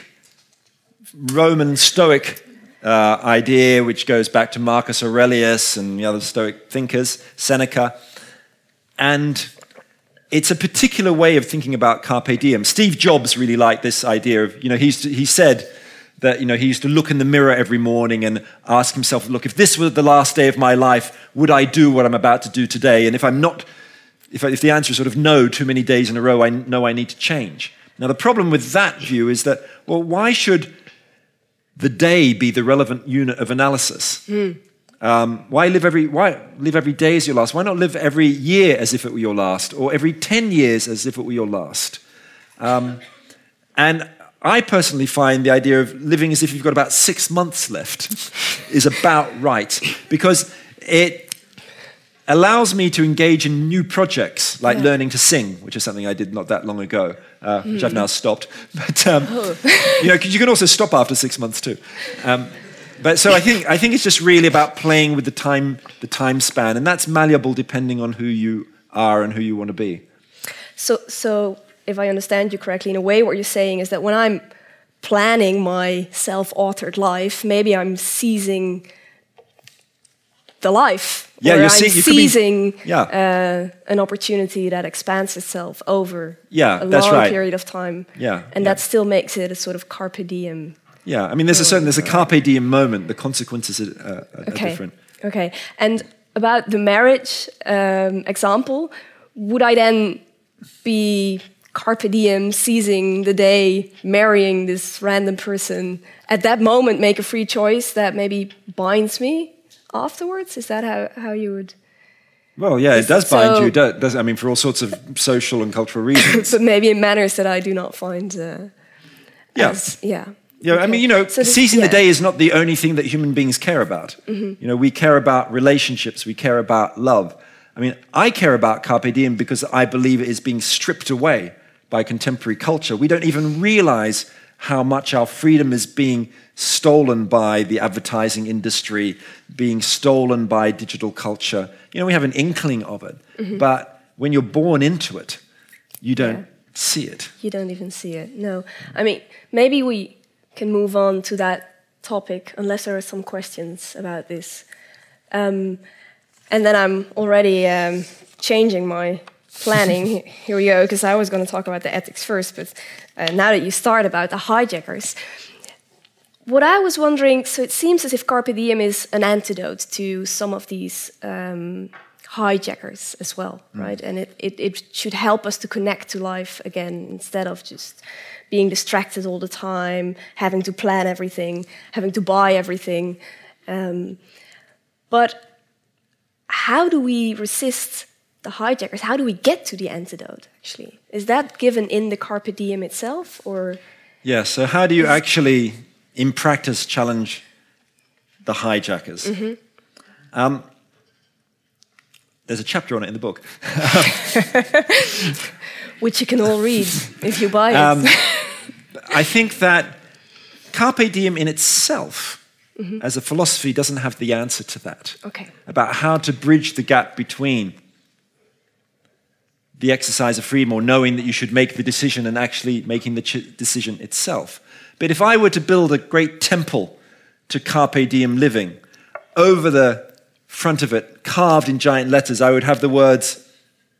Roman Stoic uh, idea, which goes back to Marcus Aurelius and the other Stoic thinkers, Seneca. And it's a particular way of thinking about carpe diem. Steve Jobs really liked this idea of, you know, he's, he said that, you know, he used to look in the mirror every morning and ask himself, look, if this were the last day of my life, would I do what I'm about to do today? And if I'm not, if, I, if the answer is sort of no, too many days in a row, I know I need to change. Now, the problem with that view is that, well, why should the day be the relevant unit of analysis? Mm. Um, why live every why live every day as your last? Why not live every year as if it were your last, or every ten years as if it were your last? Um, and I personally find the idea of living as if you've got about six months left is about right, because it allows me to engage in new projects like yeah. learning to sing, which is something I did not that long ago, uh, mm. which I've now stopped. But um, oh. you know, 'cause you can also stop after six months too. Um, but so I think I think it's just really about playing with the time the time span, and that's malleable depending on who you are and who you want to be. So so. If I understand you correctly, in a way, what you're saying is that when I'm planning my self-authored life, maybe I'm seizing the life. Yeah, or you're I'm see- you seizing be, yeah. uh, an opportunity that expands itself over yeah, a that's long right. period of time. Yeah, and yeah. that still makes it a sort of carpe diem. Yeah, I mean, there's a certain there's a carpe diem moment. The consequences are, are, are okay. different. Okay, and about the marriage um, example, would I then be carpe diem, seizing the day, marrying this random person, at that moment make a free choice that maybe binds me afterwards? Is that how, how you would... Well, yeah, it does so, bind you, does I mean, for all sorts of social and cultural reasons. But maybe in manners that I do not find... Uh, yeah. As, yeah. Yeah, okay. I mean, you know, so this, seizing yeah. the day is not the only thing that human beings care about. Mm-hmm. You know, we care about relationships, we care about love. I mean, I care about carpe diem because I believe it is being stripped away by contemporary culture. We don't even realize how much our freedom is being stolen by the advertising industry, being stolen by digital culture. You know, we have an inkling of it, mm-hmm. but when you're born into it, you don't yeah. see it. You don't even see it, no. I mean, maybe we can move on to that topic, unless there are some questions about this. Um, and then I'm already um, changing my planning. Here we go, because I was going to talk about the ethics first, but uh, now that you start about the hijackers, what I was wondering, so it seems as if carpe diem is an antidote to some of these um, hijackers as well, mm. right? And it, it, it should help us to connect to life again, instead of just being distracted all the time, having to plan everything, having to buy everything. Um, but how do we resist the hijackers? How do we get to the antidote, actually? Is that given in the carpe diem itself, or? Yeah, so how do you actually, in practice, challenge the hijackers? Mm-hmm. Um, there's a chapter on it in the book. Which you can all read if you buy it. Um, I think that carpe diem in itself, mm-hmm. as a philosophy, doesn't have the answer to that. Okay. About how to bridge the gap between the exercise of freedom, or knowing that you should make the decision and actually making the ch- decision itself. But if I were to build a great temple to carpe diem living, over the front of it, carved in giant letters, I would have the words,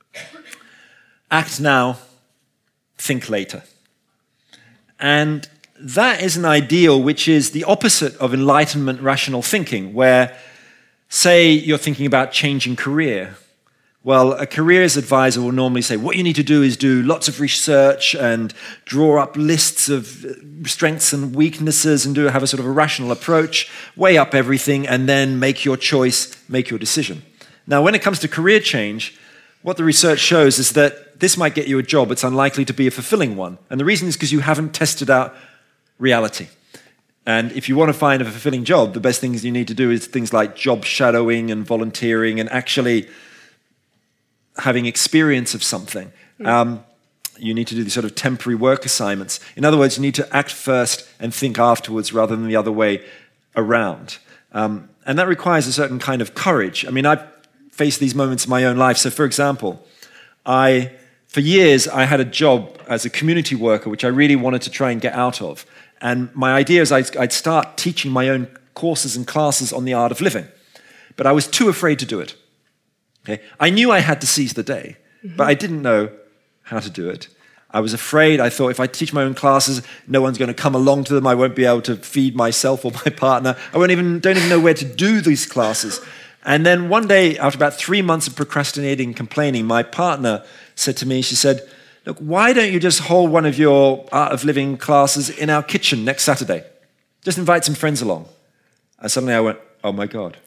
act now, think later. And that is an ideal which is the opposite of Enlightenment rational thinking, where, say, you're thinking about changing career. Well, a careers advisor will normally say, what you need to do is do lots of research and draw up lists of strengths and weaknesses and do have a sort of a rational approach, weigh up everything, and then make your choice, make your decision. Now, when it comes to career change, what the research shows is that this might get you a job. It's unlikely to be a fulfilling one. And the reason is because you haven't tested out reality. And if you want to find a fulfilling job, the best things you need to do is things like job shadowing and volunteering and actually having experience of something. Mm. Um, you need to do these sort of temporary work assignments. In other words, you need to act first and think afterwards rather than the other way around. Um, And that requires a certain kind of courage. I mean, I've faced these moments in my own life. So, for example, I, for years, I had a job as a community worker, which I really wanted to try and get out of. And my idea is I'd, I'd start teaching my own courses and classes on the art of living. But I was too afraid to do it. Okay? I knew I had to seize the day, mm-hmm. but I didn't know how to do it. I was afraid. I thought if I teach my own classes, no one's going to come along to them. I won't be able to feed myself or my partner. I won't even don't even know where to do these classes. And then one day, after about three months of procrastinating and complaining, my partner said to me, she said, look, why don't you just hold one of your Art of Living classes in our kitchen next Saturday? Just invite some friends along. And suddenly I went, oh my God,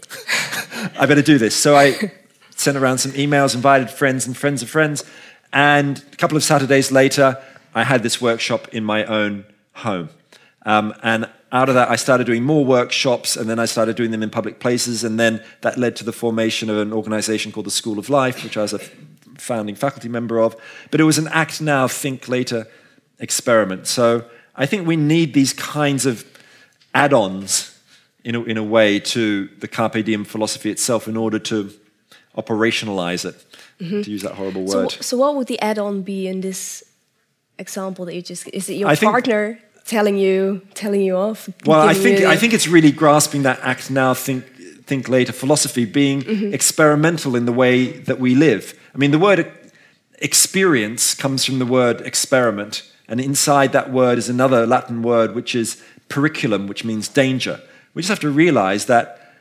I better do this. So I sent around some emails, invited friends and friends of friends. And a couple of Saturdays later, I had this workshop in my own home. Um, and out of that, I started doing more workshops, and then I started doing them in public places, and then that led to the formation of an organization called the School of Life, which I was a founding faculty member of. But it was an act now, think later experiment. So I think we need these kinds of add-ons in a, in a way to the Carpe Diem philosophy itself in order to operationalize it. Mm-hmm. To use that horrible word. So, so what would the add-on be in this example that you just... Is it your I partner think, telling you telling you off? Well, I think I think it's really grasping that act now, think think later philosophy, being mm-hmm. experimental in the way that we live. I mean, the word experience comes from the word experiment, and inside that word is another Latin word, which is periculum, which means danger. We just have to realize that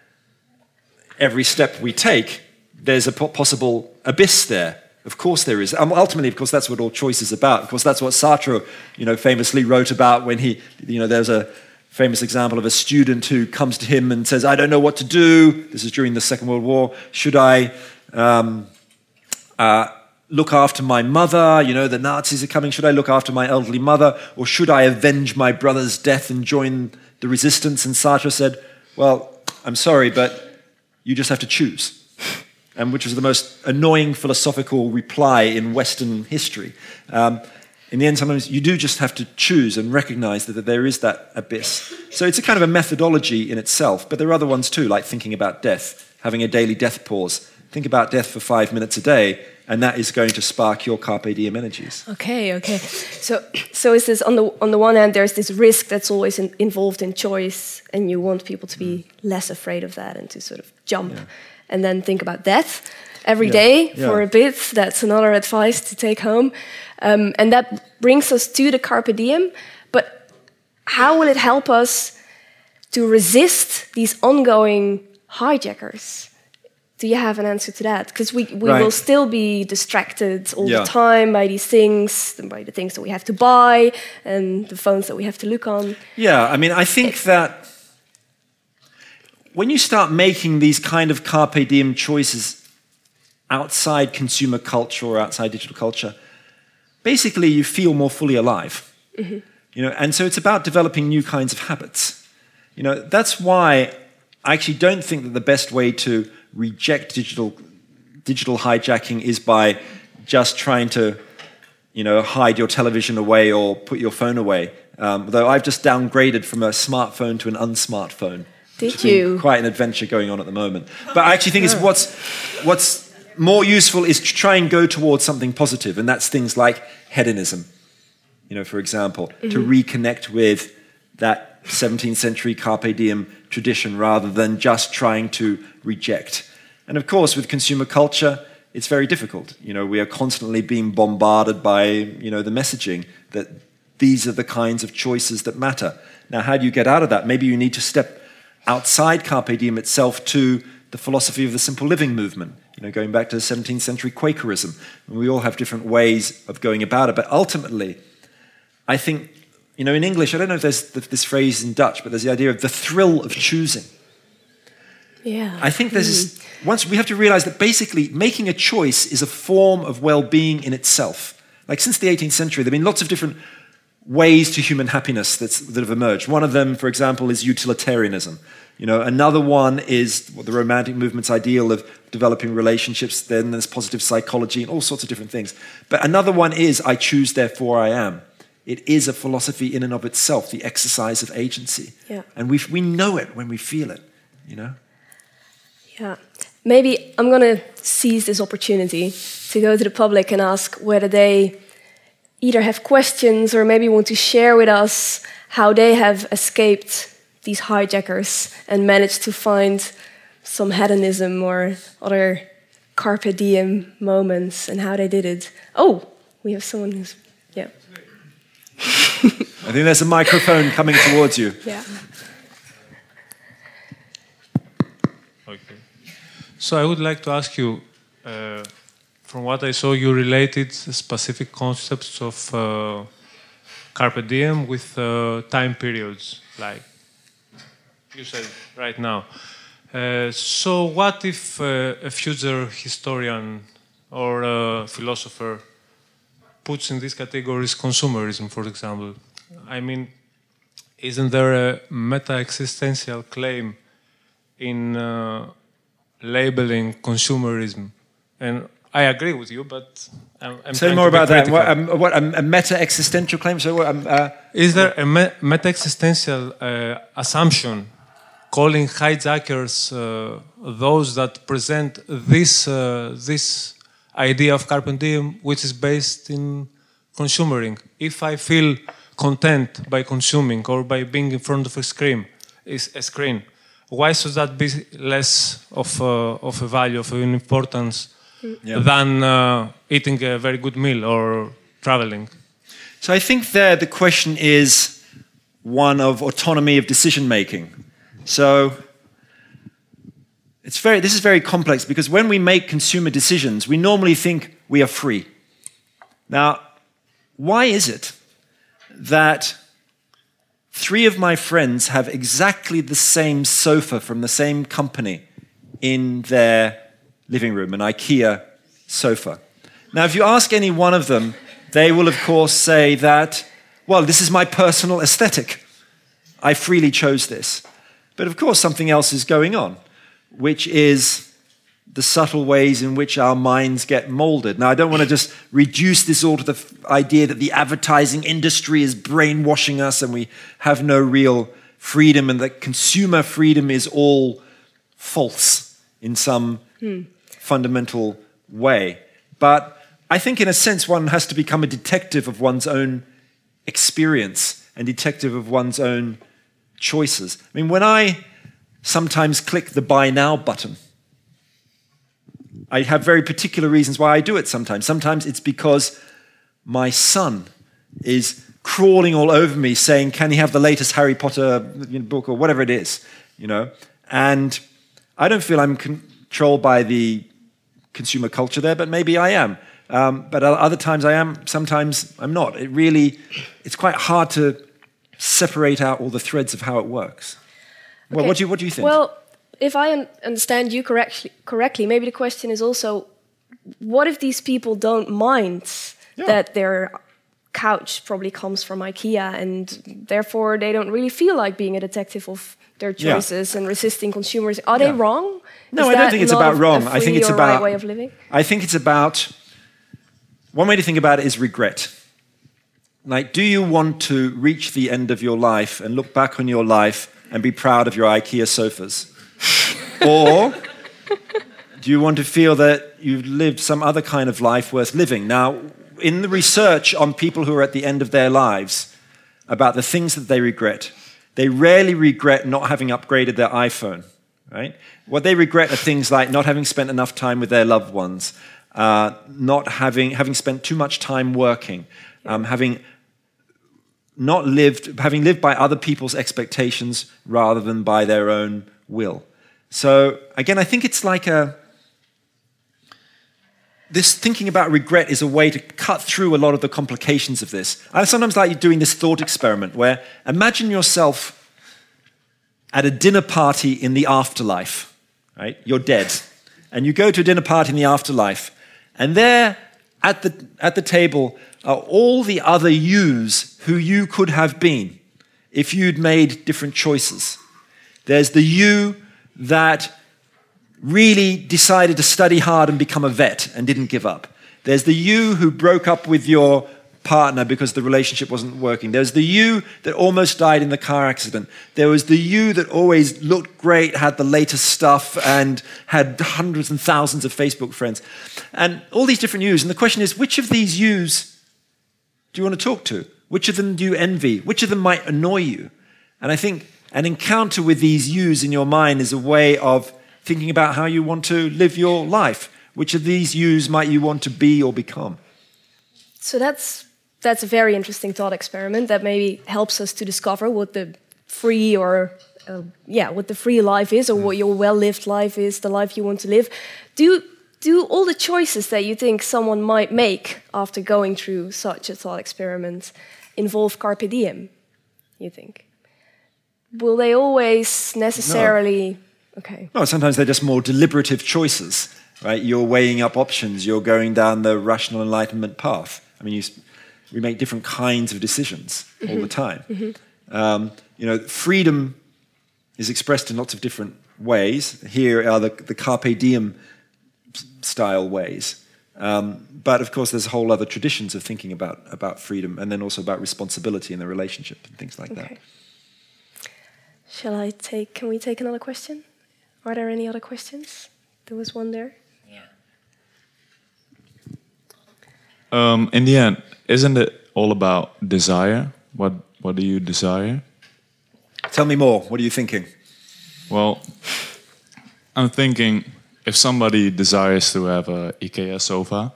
every step we take, there's a possible abyss there. Of course there is. Um, ultimately, of course, that's what all choice is about. Of course, that's what Sartre, you know, famously wrote about when he, you know, there's a famous example of a student who comes to him and says, I don't know what to do. This is during the Second World War. Should I um, uh, look after my mother? You know, the Nazis are coming. Should I look after my elderly mother? Or should I avenge my brother's death and join the resistance? And Sartre said, well, I'm sorry, but you just have to choose. And which was the most annoying philosophical reply in Western history. Um, in the end, sometimes you do just have to choose and recognize that, that there is that abyss. So it's a kind of a methodology in itself, but there are other ones too, like thinking about death, having a daily death pause. Think about death for five minutes a day, and that is going to spark your Carpe Diem energies. Okay, okay. So, so is this on the on the one hand, there's this risk that's always in, involved in choice, and you want people to be less afraid of that and to sort of jump. Yeah. And then think about death every yeah. day yeah. for a bit. That's another advice to take home. Um, and that brings us to the Carpe Diem. But how will it help us to resist these ongoing hijackers? Do you have an answer to that? Because we, we right. will still be distracted all yeah. the time by these things, by the things that we have to buy and the phones that we have to look on. Yeah, I mean, I think it, that when you start making these kind of Carpe Diem choices outside consumer culture or outside digital culture, basically you feel more fully alive. Mm-hmm. You know, and so it's about developing new kinds of habits. You know, that's why I actually don't think that the best way to reject digital digital hijacking is by just trying to, you know, hide your television away or put your phone away. Um, though I've just downgraded from a smartphone to an unsmartphone. Did you? Quite an adventure going on at the moment. But I actually think it's what's what's more useful is to try and go towards something positive, and that's things like hedonism. You know, for example, mm-hmm. to reconnect with that seventeenth century Carpe Diem tradition rather than just trying to reject. And of course, with consumer culture, it's very difficult. You know, we are constantly being bombarded by, you know, the messaging that these are the kinds of choices that matter. Now, how do you get out of that? Maybe you need to step outside Carpe Diem itself to the philosophy of the simple living movement, you know, going back to the seventeenth century Quakerism. And we all have different ways of going about it, but ultimately, I think, you know, in English, I don't know if there's this phrase in Dutch, but there's the idea of the thrill of choosing. Yeah. I think there's this, once we have to realize that basically making a choice is a form of well-being in itself. Like since the eighteenth century, there have been lots of different ways to human happiness that's, that have emerged. One of them, for example, is utilitarianism. You know, another one is what the Romantic movement's ideal of developing relationships. Then there's positive psychology and all sorts of different things. But another one is I choose, therefore I am. It is a philosophy in and of itself, the exercise of agency. Yeah. And we we know it when we feel it, you know? Yeah. Maybe I'm going to seize this opportunity to go to the public and ask whether they either have questions or maybe want to share with us how they have escaped these hijackers and managed to find some hedonism or other carpe diem moments and how they did it. Oh, we have someone who's, yeah. I think there's a microphone coming towards you. Yeah. Okay. So I would like to ask you, uh, from what I saw, you related specific concepts of uh, carpe diem with uh, time periods, like you said right now. Uh, so what if uh, a future historian or a philosopher puts in these categories consumerism, for example? I mean, isn't there a meta-existential claim in uh, labeling consumerism? And I agree with you, but I'm, I'm Say more about that. What, um, what um, a meta-existential claim? So, um, uh, is there a me meta-existential uh, assumption calling hijackers uh, those that present this uh, this idea of carpe diem, which is based in consumering? If I feel content by consuming or by being in front of a screen, is a screen, why should that be less of a, of a value, of an importance? Yeah. Than uh, eating a very good meal or traveling? So I think there the question is one of autonomy of decision making. So it's very, this is very complex because when we make consumer decisions, we normally think we are free. Now, why is it that three of my friends have exactly the same sofa from the same company in their living room, an IKEA sofa? Now, if you ask any one of them, they will, of course, say that, well, this is my personal aesthetic. I freely chose this. But, of course, something else is going on, which is the subtle ways in which our minds get molded. Now, I don't want to just reduce this all to the f- idea that the advertising industry is brainwashing us and we have no real freedom and that consumer freedom is all false in some hmm. fundamental way. But I think in a sense one has to become a detective of one's own experience and detective of one's own choices. I mean, when I sometimes click the buy now button, I have very particular reasons why I do it sometimes. Sometimes it's because my son is crawling all over me saying, can he have the latest Harry Potter book or whatever it is, you know? And I don't feel I'm controlled by the consumer culture there, but maybe I am. Um, but other times I am, sometimes I'm not. It really, it's quite hard to separate out all the threads of how it works. Okay. Well, what do you, what do you think? Well, if I un- understand you correctly, correctly, maybe the question is also, what if these people don't mind yeah. that their couch probably comes from IKEA and therefore they don't really feel like being a detective of their choices yeah. and resisting consumers? Are yeah. they wrong? No, is I don't think it's about wrong. I think it's about right way of living. I think it's about one way to think about it is regret. Like, do you want to reach the end of your life and look back on your life and be proud of your IKEA sofas? Or do you want to feel that you've lived some other kind of life worth living? Now, in the research on people who are at the end of their lives about the things that they regret, they rarely regret not having upgraded their iPhone, right? What they regret are things like not having spent enough time with their loved ones, uh, not having having spent too much time working, um, having not lived, having lived by other people's expectations rather than by their own will. So again, I think it's like a this thinking about regret is a way to cut through a lot of the complications of this. I sometimes like doing this thought experiment where imagine yourself at a dinner party in the afterlife, right? You're dead. And you go to a dinner party in the afterlife, and there at the, at the table are all the other yous who you could have been if you'd made different choices. There's the you that really decided to study hard and become a vet and didn't give up. There's the you who broke up with your partner because the relationship wasn't working. There was the you that almost died in the car accident. There was the you that always looked great, had the latest stuff, and had hundreds and thousands of Facebook friends. And all these different yous. And the question is, which of these yous do you want to talk to? Which of them do you envy? Which of them might annoy you? And I think an encounter with these yous in your mind is a way of thinking about how you want to live your life. Which of these yous might you want to be or become? So that's that's a very interesting thought experiment that maybe helps us to discover what the free or uh, yeah, what the free life is, or what your well-lived life is, the life you want to live. Do do all the choices that you think someone might make after going through such a thought experiment involve carpe diem? You think? Will they always necessarily? No. Okay. No, sometimes they're just more deliberative choices, right? You're weighing up options. You're going down the rational enlightenment path. I mean, you, we make different kinds of decisions mm-hmm. all the time. Mm-hmm. Um, you know, freedom is expressed in lots of different ways. Here are the, the carpe diem style ways. Um, but of course, there's whole other traditions of thinking about, about freedom, and then also about responsibility in the relationship and things like okay. that. Shall I take, can we take another question? Are there any other questions? There was one there. Yeah. Um, in the end, isn't it all about desire? What What do you desire? Tell me more. What are you thinking? Well, I'm thinking if somebody desires to have a IKEA sofa,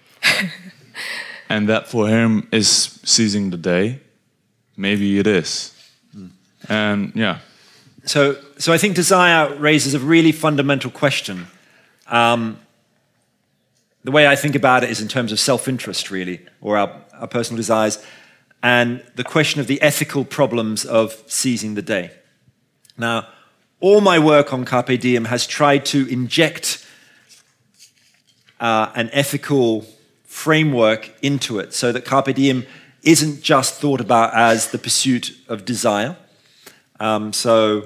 and that for him is seizing the day, maybe it is. Mm. And yeah. So, so I think desire raises a really fundamental question. Um, the way I think about it is in terms of self-interest, really, or our, our personal desires, and the question of the ethical problems of seizing the day. Now, all my work on Carpe Diem has tried to inject uh, an ethical framework into it, so that Carpe Diem isn't just thought about as the pursuit of desire. Um, so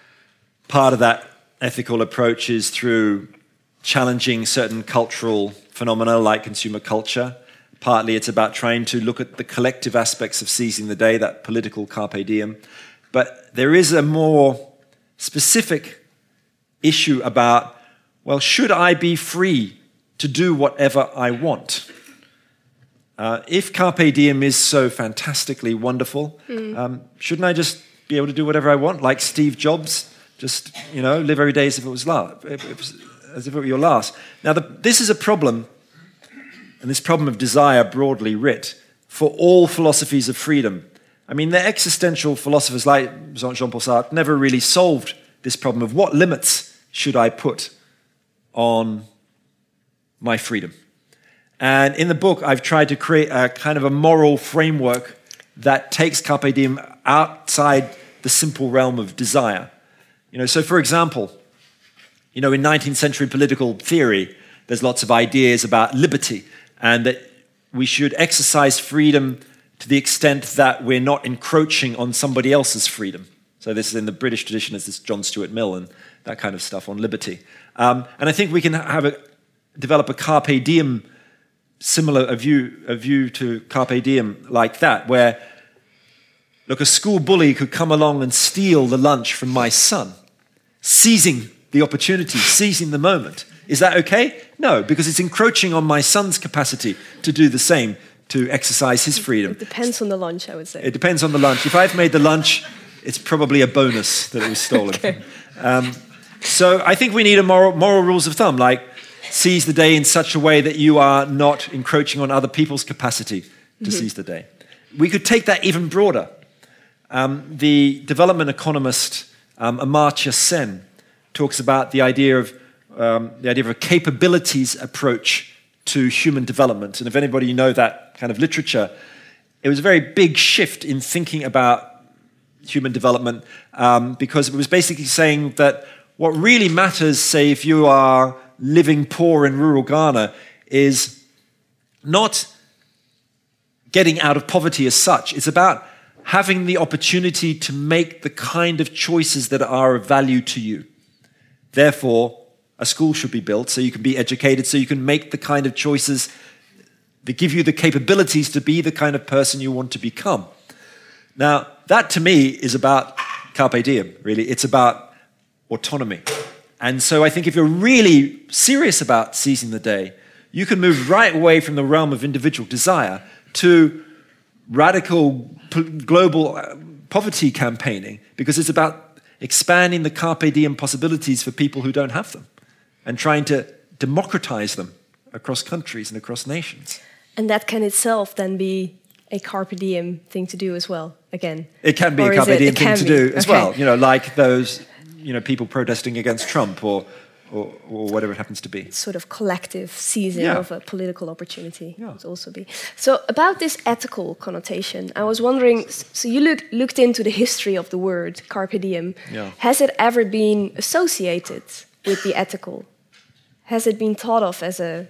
part of that ethical approach is through challenging certain cultural phenomena like consumer culture. Partly it's about trying to look at the collective aspects of seizing the day, that political carpe diem. But there is a more specific issue about, well, should I be free to do whatever I want? Uh, if carpe diem is so fantastically wonderful, mm. um, shouldn't I just be able to do whatever I want, like Steve Jobs? Just, you know, live every day as if it was, last, as if it were your last. Now, the, this is a problem, and this problem of desire broadly writ, for all philosophies of freedom. I mean, the existential philosophers like Jean-Paul Sartre never really solved this problem of what limits should I put on my freedom. And in the book, I've tried to create a kind of a moral framework that takes Carpe Diem outside the simple realm of desire. You know, so for example, you know, in nineteenth century political theory, there's lots of ideas about liberty and that we should exercise freedom to the extent that we're not encroaching on somebody else's freedom. So this is in the British tradition, as this John Stuart Mill and that kind of stuff on liberty. Um, and I think we can have a, develop a Carpe Diem, similar a view, a view to Carpe Diem like that, where, look, a school bully could come along and steal the lunch from my son, seizing the opportunity, seizing the moment. Is that okay? No, because it's encroaching on my son's capacity to do the same, to exercise his freedom. It depends on the lunch, I would say. It depends on the lunch. If I've made the lunch, it's probably a bonus that it was stolen. Okay. Um, so I think we need a moral, moral rules of thumb, like seize the day in such a way that you are not encroaching on other people's capacity to mm-hmm. seize the day. We could take that even broader. Um, the development economist um, Amartya Sen talks about the idea of um, the idea of a capabilities approach to human development. And if anybody you know that kind of literature, it was a very big shift in thinking about human development um, because it was basically saying that what really matters, say, if you are living poor in rural Ghana, is not getting out of poverty as such. It's about having the opportunity to make the kind of choices that are of value to you. Therefore, a school should be built so you can be educated, so you can make the kind of choices that give you the capabilities to be the kind of person you want to become. Now, that to me is about carpe diem, really. It's about autonomy. And so I think if you're really serious about seizing the day, you can move right away from the realm of individual desire to radical global poverty campaigning, because it's about expanding the carpe diem possibilities for people who don't have them and trying to democratize them across countries and across nations. And that can itself then be a carpe diem thing to do as well, again? It can be or a carpe it, diem it thing to be. do as okay. well, you know, like those, you know, people protesting against Trump or, or, or whatever it happens to be. Sort of collective seizing Yeah. of a political opportunity Yeah. would also be. So about this ethical connotation, I was wondering, so you look, looked into the history of the word carpe diem. Yeah. Has it ever been associated with the ethical? Has it been thought of as a...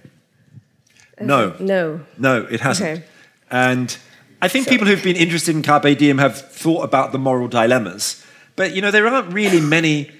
as No. a- no. No, it hasn't. Okay. And I think So- people who've been interested in carpe diem have thought about the moral dilemmas. But, you know, there aren't really many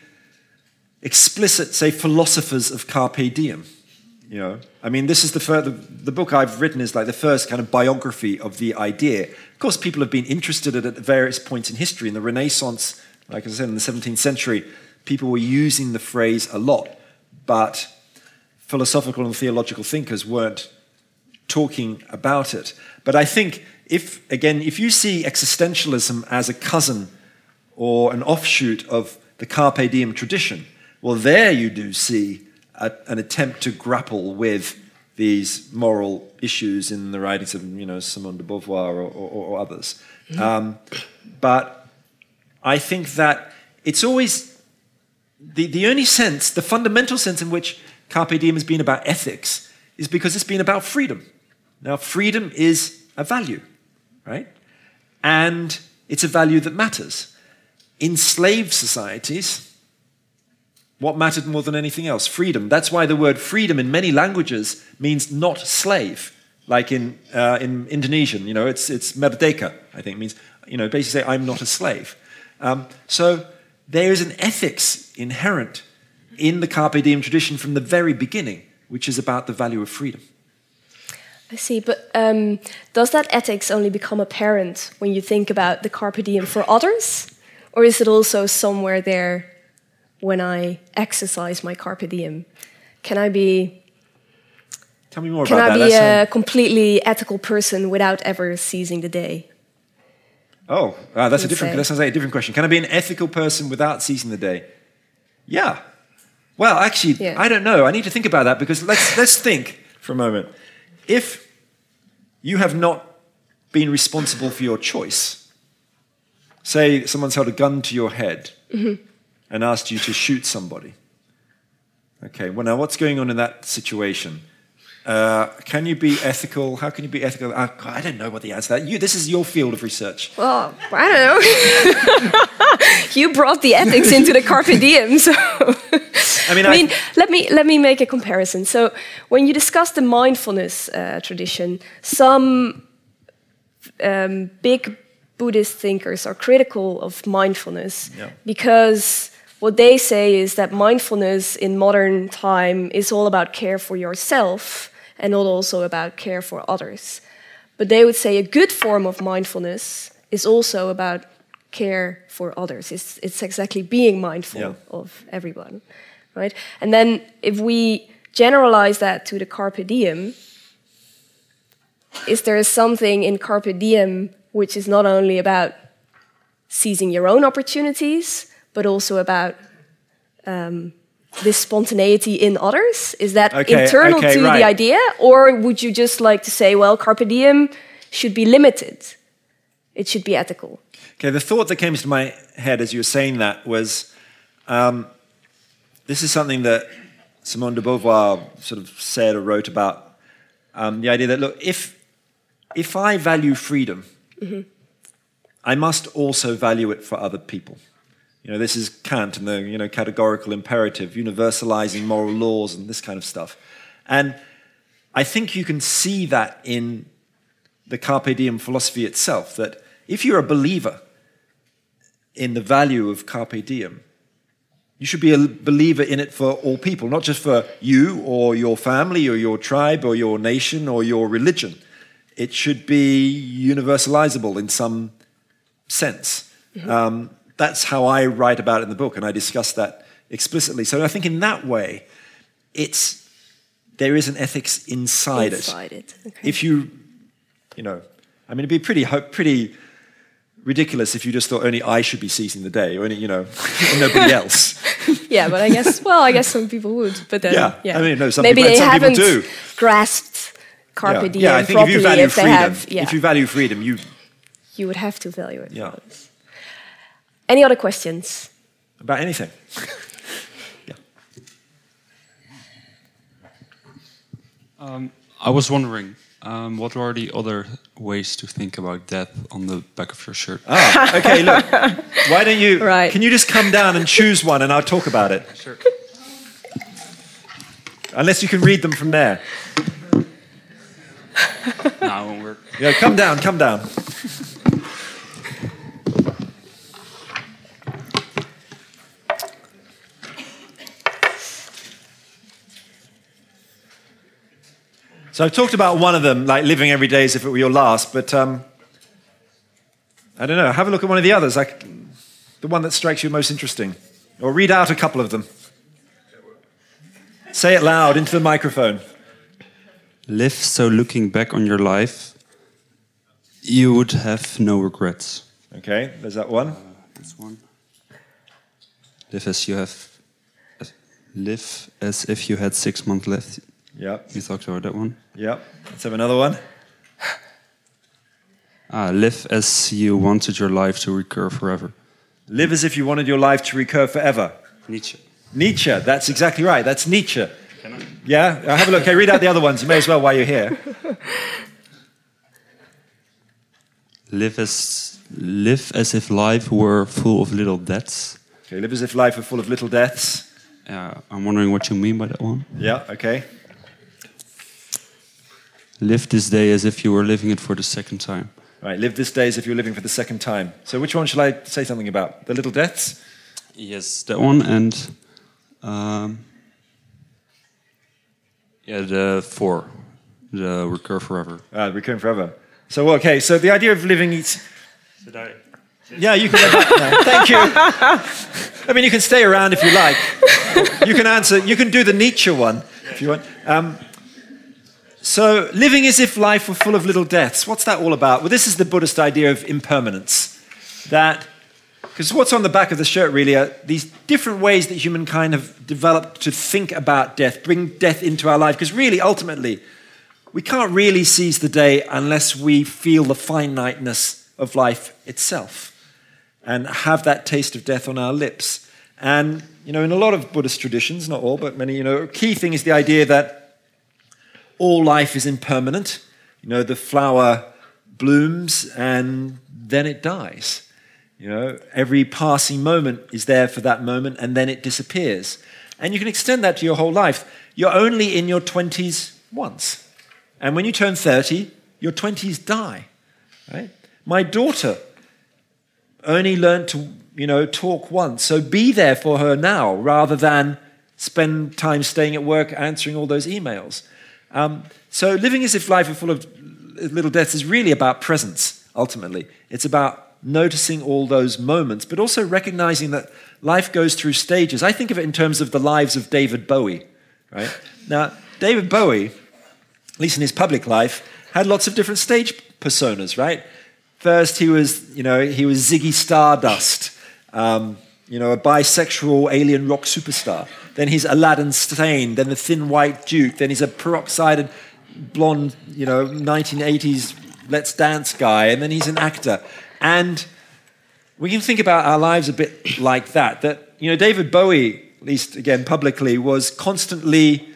explicit, say, philosophers of carpe diem. You know, I mean, this is the, fir- the the book I've written is like the first kind of biography of the idea. Of course, people have been interested in it at various points in history. In the Renaissance, like I said, in the seventeenth century, people were using the phrase a lot, but philosophical and theological thinkers weren't talking about it. But I think if, again, if you see existentialism as a cousin or an offshoot of the carpe diem tradition, well, there you do see a, an attempt to grapple with these moral issues in the writings of, you know, Simone de Beauvoir or, or, or others. Mm-hmm. Um, but I think that it's always the, the only sense, the fundamental sense in which carpe diem has been about ethics is because it's been about freedom. Now, freedom is a value, right? And it's a value that matters. In slave societies, what mattered more than anything else? Freedom. That's why the word freedom in many languages means not slave. Like in uh, in Indonesian, you know, it's it's merdeka, I think, it means, you know, basically say, I'm not a slave. Um, so there is an ethics inherent in the carpe diem tradition from the very beginning, which is about the value of freedom. I see, but um, does that ethics only become apparent when you think about the carpe diem for others? Or is it also somewhere there when I exercise my carpe diem? Can I be, Tell me more can about I that. be That's a completely ethical person without ever seizing the day? Oh, uh, that's a You'd different. say. That sounds like a different question. Can I be an ethical person without seizing the day? Yeah. Well, actually, Yeah. I don't know. I need to think about that because let's let's think for a moment. If you have not been responsible for your choice, say someone's held a gun to your head Mm-hmm. and asked you to shoot somebody. Okay. Well, now what's going on in that situation? Uh, can you be ethical? How can you be ethical? Uh, I don't know what the answer to that. You, this is your field of research. Well, I don't know. You brought the ethics into the carpe diem, so. I mean, I mean, I- let me let me make a comparison. So, when you discuss the mindfulness uh, tradition, some um, big Buddhist thinkers are critical of mindfulness Yeah. because what they say is that mindfulness in modern time is all about care for yourself and not also about care for others. But they would say a good form of mindfulness is also about care for others. It's, it's exactly being mindful Yeah. of everyone, right? And then if we generalize that to the carpe diem, is there something in carpe diem which is not only about seizing your own opportunities, but also about um, this spontaneity in others? Is that Okay, internal okay, to right. the idea? Or would you just like to say, well, carpe diem should be limited? It should be ethical. Okay, the thought that came to my head as you were saying that was, um, this is something that Simone de Beauvoir sort of said or wrote about, um, the idea that, look, if, if I value freedom, Mm-hmm. I must also value it for other people. You know, this is Kant and the, you know, categorical imperative, universalizing moral laws and this kind of stuff. And I think you can see that in the Carpe Diem philosophy itself, that if you're a believer in the value of Carpe Diem, you should be a believer in it for all people, not just for you or your family or your tribe or your nation or your religion, it should be universalizable in some sense. Mm-hmm. Um, that's how I write about it in the book, and I discuss that explicitly. So I think in that way, it's there is an ethics inside, inside it. it. Okay. If you, you know, I mean, it'd be pretty pretty ridiculous if you just thought only I should be seizing the day, or only, you know, nobody else. Yeah, but I guess, well, I guess some people would. But then, yeah, yeah. I mean, no, some maybe people, they some haven't people do. grasped carpe yeah. diem yeah, I think properly. if you value if freedom, they have, yeah. if you value freedom, you you would have to value it. Yeah. Any other questions? About anything? Yeah. Um, I was wondering, um, what are the other ways to think about death on the back of your shirt? Ah, okay, look. Why don't you, right. can you just come down and choose one and I'll talk about it? Sure. Unless you can read them from there. No, it won't work. Yeah, come down, come down. So I've talked about one of them, like living every day as if it were your last, but um, I don't know, have a look at one of the others, like the one that strikes you most interesting. Or read out a couple of them. Say it loud into the microphone. Live so looking back on your life, you would have no regrets. Okay, there's that one. Uh, this one. Live as you have, live as if you had six months left. Yeah. You talked about that one. Yeah. Let's have another one. Ah, live as you wanted your life to recur forever. Live as if you wanted your life to recur forever. Nietzsche. Nietzsche, that's exactly right. That's Nietzsche. Can I? Yeah? Uh, have a look. Okay, read out the other ones. You may as well while you're here. Live as, live as if life were full of little deaths. Okay, live as if life were full of little deaths. Uh, I'm wondering what you mean by that one. Yeah, okay. Live this day as if you were living it for the second time. Right, live this day as if you're living for the second time. So which one shall I say something about? The little deaths? Yes, that one, and um, yeah, the four, the recur forever. Uh, recurring forever. So, okay, so the idea of living is... Did I? Yeah, you can go back now. Thank you. I mean, you can stay around if you like. You can answer, you can do the Nietzsche one if you want. Um, so, living as if life were full of little deaths. What's that all about? Well, this is the Buddhist idea of impermanence. That, because what's on the back of the shirt really are these different ways that humankind have developed to think about death, bring death into our life. Because really, ultimately, we can't really seize the day unless we feel the finiteness of life itself and have that taste of death on our lips. And, you know, in a lot of Buddhist traditions, not all, but many, you know, a key thing is the idea that all life is impermanent. You know, the flower blooms and then it dies. You know, every passing moment is there for that moment and then it disappears. And you can extend that to your whole life. You're only in your twenties once. And when you turn thirty, your twenties die. Right? My daughter only learned to, you know, talk once. So be there for her now rather than spend time staying at work answering all those emails. Um, so living as if life is full of little deaths is really about presence, ultimately. It's about noticing all those moments, but also recognizing that life goes through stages. I think of it in terms of the lives of David Bowie. Right? Now, David Bowie, at least in his public life, had lots of different stage personas, right? First, he was, you know, he was Ziggy Stardust, um, you know, a bisexual alien rock superstar. Then he's Aladdin Sane, then the Thin White Duke, then he's a peroxided blonde, you know, nineteen eighties Let's Dance guy, and then he's an actor. And we can think about our lives a bit like that, that, you know, David Bowie, at least again publicly, was constantly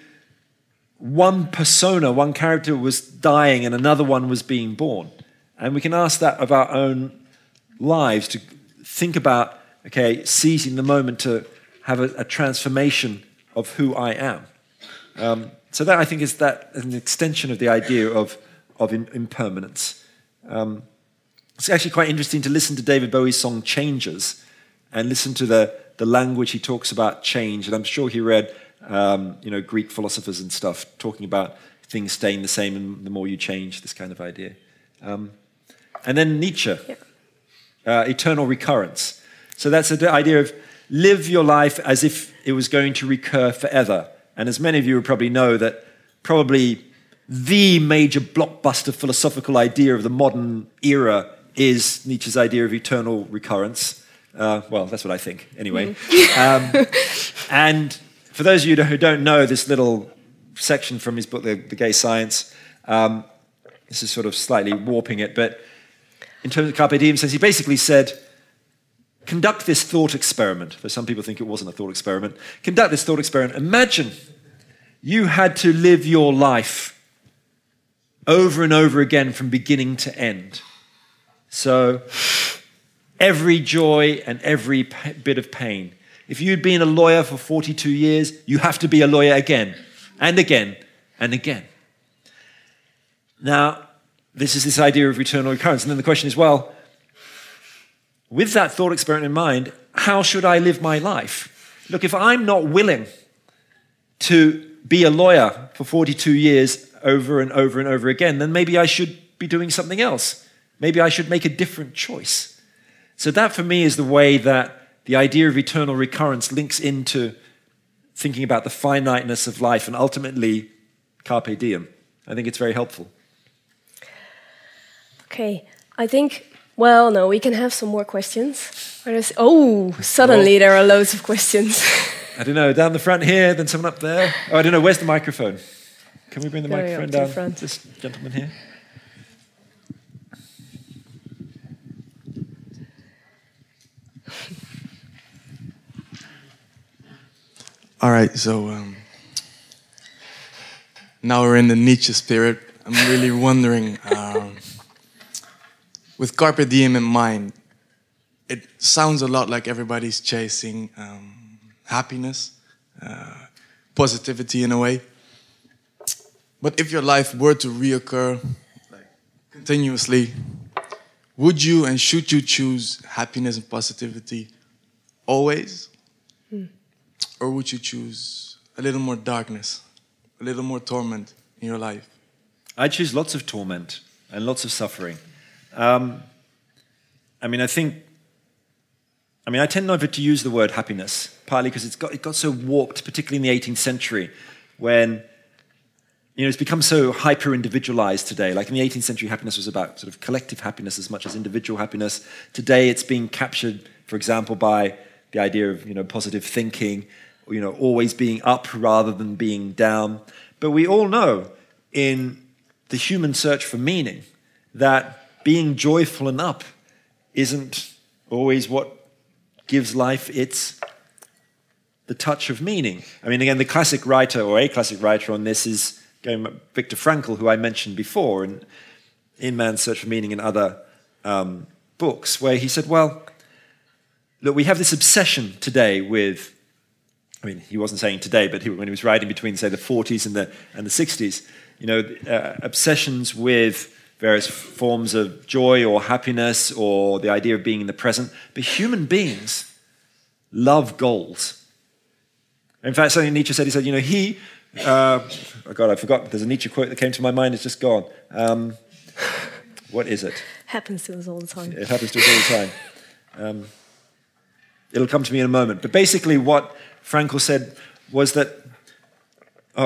one persona, one character was dying and another one was being born. And we can ask that of our own lives, to think about, okay, seizing the moment to have a, a transformation of who I am. Um, so that, I think, is that an extension of the idea of, of in, impermanence. Um, it's actually quite interesting to listen to David Bowie's song Changes and listen to the, the language he talks about change. And I'm sure he read um, you know, Greek philosophers and stuff talking about things staying the same and the more you change, this kind of idea. Um, and then Nietzsche, Yeah. uh, eternal recurrence. So that's the idea of live your life as if it was going to recur forever. And as many of you would probably know, that probably the major blockbuster philosophical idea of the modern era is Nietzsche's idea of eternal recurrence. Uh, well, that's what I think, anyway. um, and for those of you who don't know this little section from his book, The, the Gay Science, um, this is sort of slightly warping it, but in terms of Carpe Diem, says he basically said, conduct this thought experiment. Though some people think it wasn't a thought experiment. Conduct this thought experiment. Imagine you had to live your life over and over again from beginning to end. So every joy and every p- bit of pain. If you'd been a lawyer for forty-two years, you have to be a lawyer again and again and again. Now, this is this idea of eternal recurrence. And then the question is, well, with that thought experiment in mind, how should I live my life? Look, if I'm not willing to be a lawyer for forty-two years over and over and over again, then maybe I should be doing something else. Maybe I should make a different choice. So that for me is the way that the idea of eternal recurrence links into thinking about the finiteness of life and ultimately Carpe Diem. I think it's very helpful. Okay, I think, well, no, we can have some more questions. Where is, oh, suddenly Well, there are loads of questions. I don't know, down the front here, then someone up there. Oh, I don't know, where's the microphone? Can we bring the There we microphone go, to the down? front. This gentleman here. All right, so um, now we're in the Nietzsche spirit. I'm really wondering, um, with Carpe Diem in mind, it sounds a lot like everybody's chasing um, happiness, uh, positivity in a way. But if your life were to reoccur like, continuously, would you and should you choose happiness and positivity always? Hmm. Or would you choose a little more darkness, a little more torment in your life? I choose lots of torment and lots of suffering. Um, I mean, I think, I mean, I tend never to use the word happiness, partly because it's got, it got so warped, particularly in the eighteenth century, when, you know, it's become so hyper-individualized today. Like in the eighteenth century, happiness was about sort of collective happiness as much as individual happiness. Today, it's being captured, for example, by the idea of, you know, positive thinking, you know, always being up rather than being down. But we all know in the human search for meaning that being joyful and up isn't always what gives life its the touch of meaning. I mean, again, the classic writer or a classic writer on this is going Viktor Frankl, who I mentioned before in, in Man's Search for Meaning and other um, books, where he said, well, look, we have this obsession today with, I mean, he wasn't saying today, but he, when he was writing between, say, the forties and the, and the sixties, you know, uh, obsessions with various forms of joy or happiness or the idea of being in the present. But human beings love goals. In fact, something Nietzsche said, he said, you know, he, uh, oh God, I forgot, there's a Nietzsche quote that came to my mind, it's just gone. Um, what is it? Happens to us all the time. It happens to us all the time. Um, it'll come to me in a moment. But basically what Frankl said was that uh,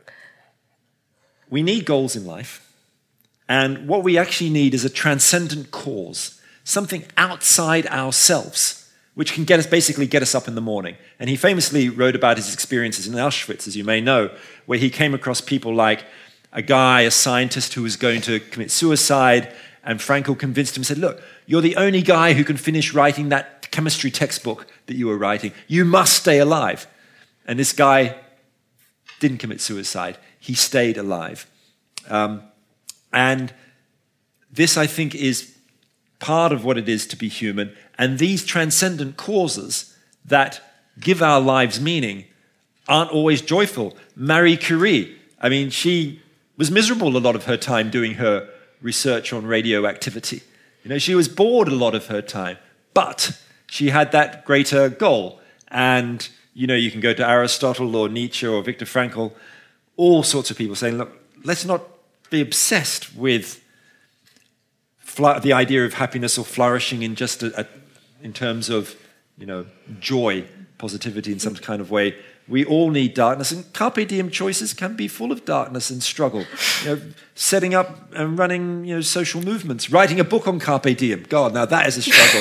we need goals in life. And what we actually need is a transcendent cause, something outside ourselves, which can get us, basically get us up in the morning. And he famously wrote about his experiences in Auschwitz, as you may know, where he came across people like a guy, a scientist who was going to commit suicide, and Frankl convinced him, said, look, you're the only guy who can finish writing that chemistry textbook that you were writing. You must stay alive. And this guy didn't commit suicide. He stayed alive. Um, and this, I think, is part of what it is to be human. And these transcendent causes that give our lives meaning aren't always joyful. Marie Curie, I mean, she was miserable a lot of her time doing her research on radioactivity. You know, she was bored a lot of her time, but she had that greater goal. And, you know, you can go to Aristotle or Nietzsche or Viktor Frankl, all sorts of people saying, look, let's not be obsessed with fl- the idea of happiness or flourishing in just a, a, in terms of, you know, joy, positivity in some kind of way. We all need darkness, and carpe diem choices can be full of darkness and struggle. You know, setting up and running, you know, social movements, writing a book on carpe diem. God, now that is a struggle.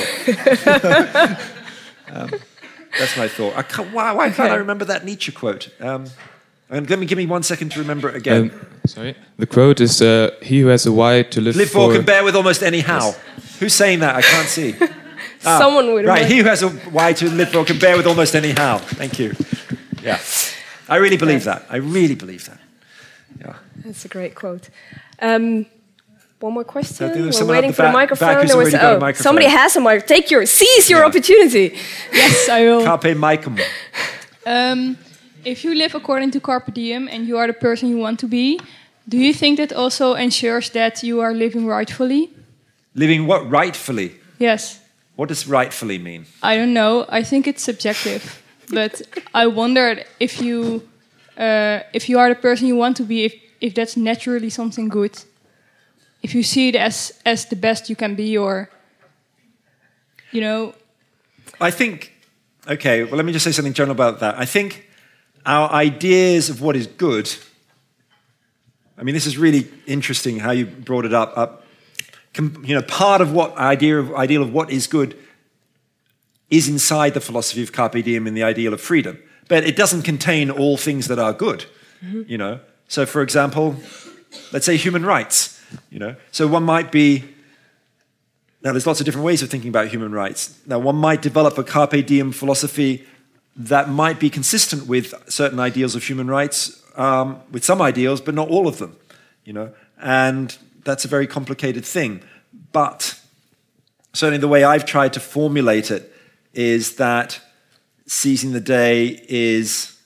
um, that's my thought. I can't, why, why can't I remember that Nietzsche quote? Um, and give me, give me one second to remember it again. Um, sorry, the quote is: uh, "He who has a why to live, live for, for can bear with almost any how." Yes. Who's saying that? I can't see. Ah, Someone would. Right, he who has a why to live for can bear with almost any how. Thank you. Yeah, I really believe that. I really believe that. Yeah, that's a great quote. Um, one more question. We're the waiting for back, the microphone. There was, oh, a microphone. Somebody has a mic. Take your, seize your yeah. opportunity. Yes, I will. Carpe micum. Um, if you live according to carpe diem and you are the person you want to be, do you think that also ensures that you are living rightfully? Living what rightfully? Yes. What does rightfully mean? I don't know. I think it's subjective. But I wondered if you, uh, if you are the person you want to be, if, if that's naturally something good. If you see it as, as the best you can be, or, you know. I think, okay, well, let me just say something general about that. I think our ideas of what is good, I mean, this is really interesting how you brought it up. up you know, part of what idea of, ideal of what is good is inside the philosophy of carpe diem and the ideal of freedom. But it doesn't contain all things that are good, mm-hmm. you know. So, for example, let's say human rights, you know. So one might be, now there's lots of different ways of thinking about human rights. Now one might develop a carpe diem philosophy that might be consistent with certain ideals of human rights, um, with some ideals, but not all of them, you know. And that's a very complicated thing. But certainly the way I've tried to formulate it is that seizing the day is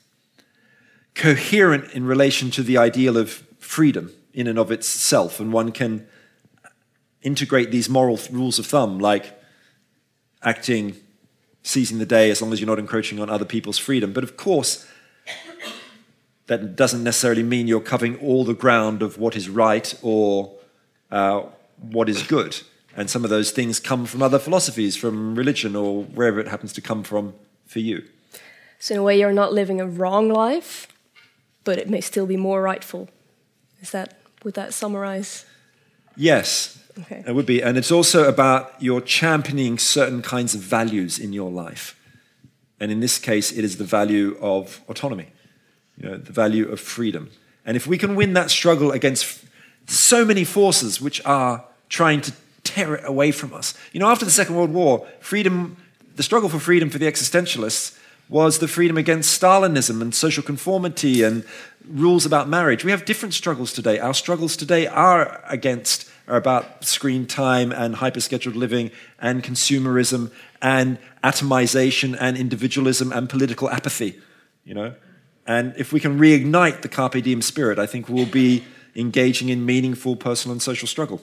coherent in relation to the ideal of freedom in and of itself, and one can integrate these moral th- rules of thumb, like acting, seizing the day as long as you're not encroaching on other people's freedom. But of course, that doesn't necessarily mean you're covering all the ground of what is right or uh, what is good. And some of those things come from other philosophies, from religion, or wherever it happens to come from for you. So in a way, you're not living a wrong life, but it may still be more rightful. Is that, would that summarize? Yes, okay. It would be. And it's also about your championing certain kinds of values in your life. And in this case, it is the value of autonomy, you know, the value of freedom. And if we can win that struggle against so many forces which are trying to tear it away from us. You know, after the Second World War, freedom, the struggle for freedom for the existentialists was the freedom against Stalinism and social conformity and rules about marriage. We have different struggles today. Our struggles today are against, are about screen time and hyper-scheduled living and consumerism and atomization and individualism and political apathy, you know. And if we can reignite the carpe diem spirit, I think we'll be engaging in meaningful personal and social struggle.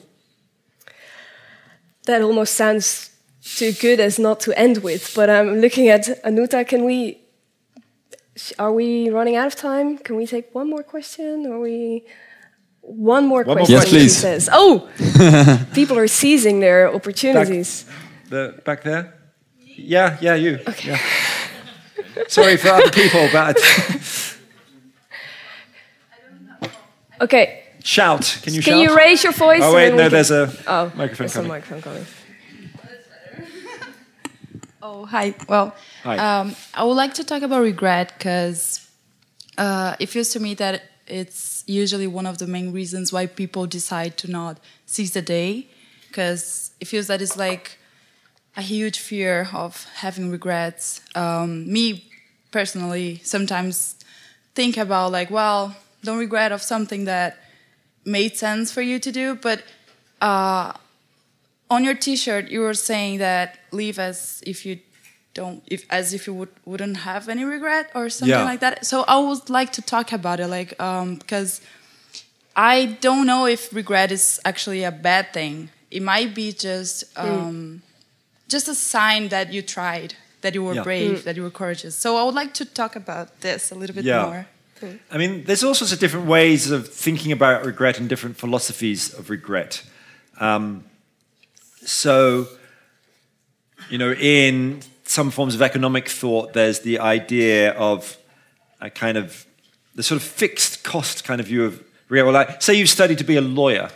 That almost sounds too good as not to end with, but I'm looking at Anuta. Can we, are we running out of time? Can we take one more question? Or we, one more one question, more question. Yes, please. She says. Oh, people are seizing their opportunities. Back, the, back there? Yeah, yeah, you. Okay. Yeah. Sorry for other people, but... Okay. Shout. Can you Can shout? you raise your voice? Oh, wait, no, can... there's a oh, microphone there's coming. a microphone coming. Oh, hi. Well, hi. Um, I would like to talk about regret because uh, it feels to me that it's usually one of the main reasons why people decide to not seize the day, because it feels that it's like a huge fear of having regrets. Um, me, personally, sometimes think about like, well, don't regret of something that made sense for you to do, but uh, on your T-shirt you were saying that live as if you don't, if as if you would wouldn't have any regret or something yeah. like that. So I would like to talk about it, like um, because I don't know if regret is actually a bad thing. It might be just um, mm. just a sign that you tried, that you were yeah. brave, mm. that you were courageous. So I would like to talk about this a little bit yeah. more. I mean, there's all sorts of different ways of thinking about regret and different philosophies of regret. Um, so, you know, in some forms of economic thought, there's the idea of a kind of, the sort of fixed cost kind of view of regret. Well, like, say you've studied to be a lawyer,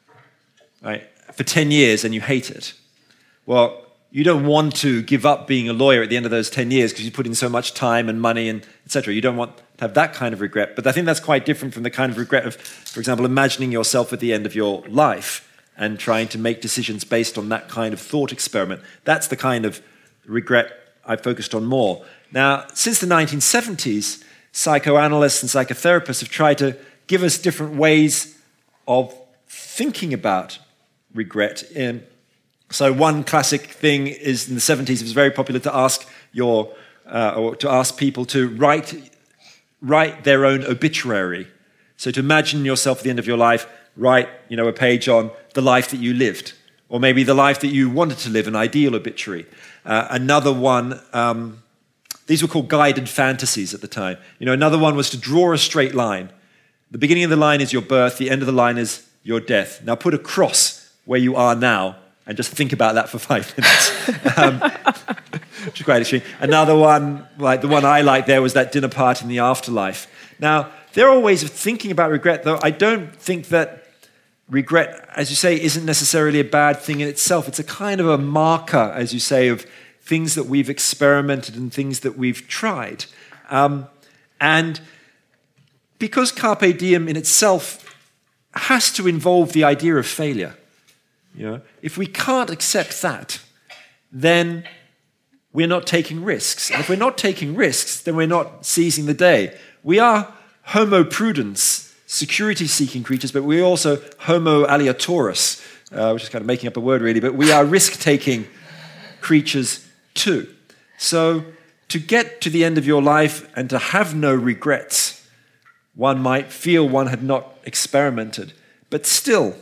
right, for ten years and you hate it. Well, you don't want to give up being a lawyer at the end of those ten years because you put in so much time and money and et cetera. You don't want to have that kind of regret. But I think that's quite different from the kind of regret of, for example, imagining yourself at the end of your life and trying to make decisions based on that kind of thought experiment. That's the kind of regret I focused on more. Now, since the nineteen seventies, psychoanalysts and psychotherapists have tried to give us different ways of thinking about regret. In, so one classic thing is in the seventies, it was very popular to ask your uh, or to ask people to write write their own obituary. So to imagine yourself at the end of your life, write, you know, a page on the life that you lived, or maybe the life that you wanted to live, an ideal obituary. Uh, another one, um, these were called guided fantasies at the time. You know, another one was to draw a straight line. The beginning of the line is your birth, the end of the line is your death. Now put a cross where you are now and just think about that for five minutes. um, which is quite extreme. Another one, like the one I liked there, was that dinner party in the afterlife. Now, there are ways of thinking about regret, though I don't think that regret, as you say, isn't necessarily a bad thing in itself. It's a kind of a marker, as you say, of things that we've experimented and things that we've tried. Um, and because Carpe Diem in itself has to involve the idea of failure, you know, if we can't accept that, then we're not taking risks. And if we're not taking risks, then we're not seizing the day. We are Homo prudens, security-seeking creatures, but we're also Homo aleatorus, uh, which is kind of making up a word really, but we are risk-taking creatures too. So to get to the end of your life and to have no regrets, one might feel one had not experimented. But still,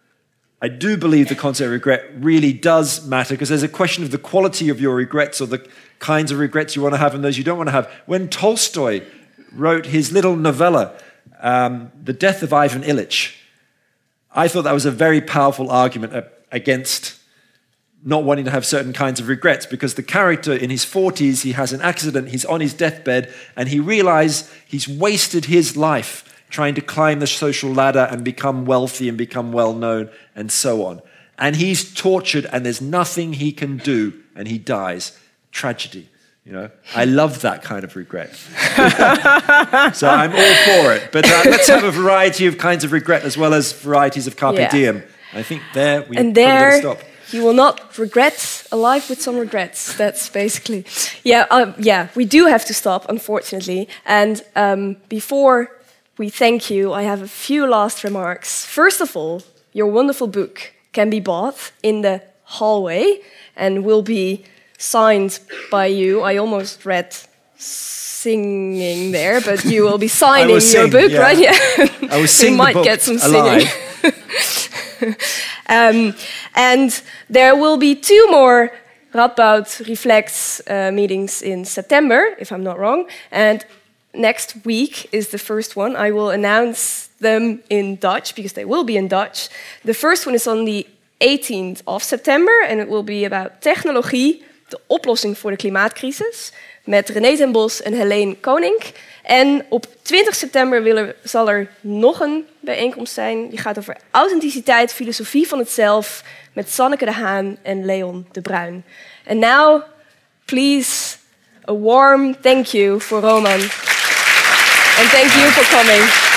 I do believe the concept of regret really does matter, because there's a question of the quality of your regrets or the kinds of regrets you want to have and those you don't want to have. When Tolstoy wrote his little novella, um, The Death of Ivan Ilyich, I thought that was a very powerful argument against not wanting to have certain kinds of regrets, because the character in his forties, he has an accident, he's on his deathbed, and he realized he's wasted his life trying to climb the social ladder and become wealthy and become well-known and so on. And he's tortured and there's nothing he can do and he dies. Tragedy, you know. I love that kind of regret. So I'm all for it. But uh, let's have a variety of kinds of regret as well as varieties of Carpe Yeah. Diem. I think there we And probably there gotta stop. you will not regret a life with some regrets. That's basically... Yeah, um, yeah, we do have to stop, unfortunately. And um, before we thank you, I have a few last remarks. First of all, your wonderful book can be bought in the hallway and will be signed by you. I almost read singing there, but you will be signing your sing, book, yeah. right? Yeah. I was So you singing the might book get some alive. singing. um, and there will be two more Radboud Reflects uh, meetings in September, if I'm not wrong. And next week is the first one. I will announce them in Dutch, because they will be in Dutch. The first one is on the eighteenth of September, and it will be about technologie, de oplossing voor de klimaatcrisis, met René ten Bos en Helene Koning. En op twintig september wil er, zal er nog een bijeenkomst zijn. Die gaat over authenticiteit, filosofie van het zelf, met Sanneke de Haan en Leon de Bruin. And now, please, a warm thank you for Roman. And thank you for coming.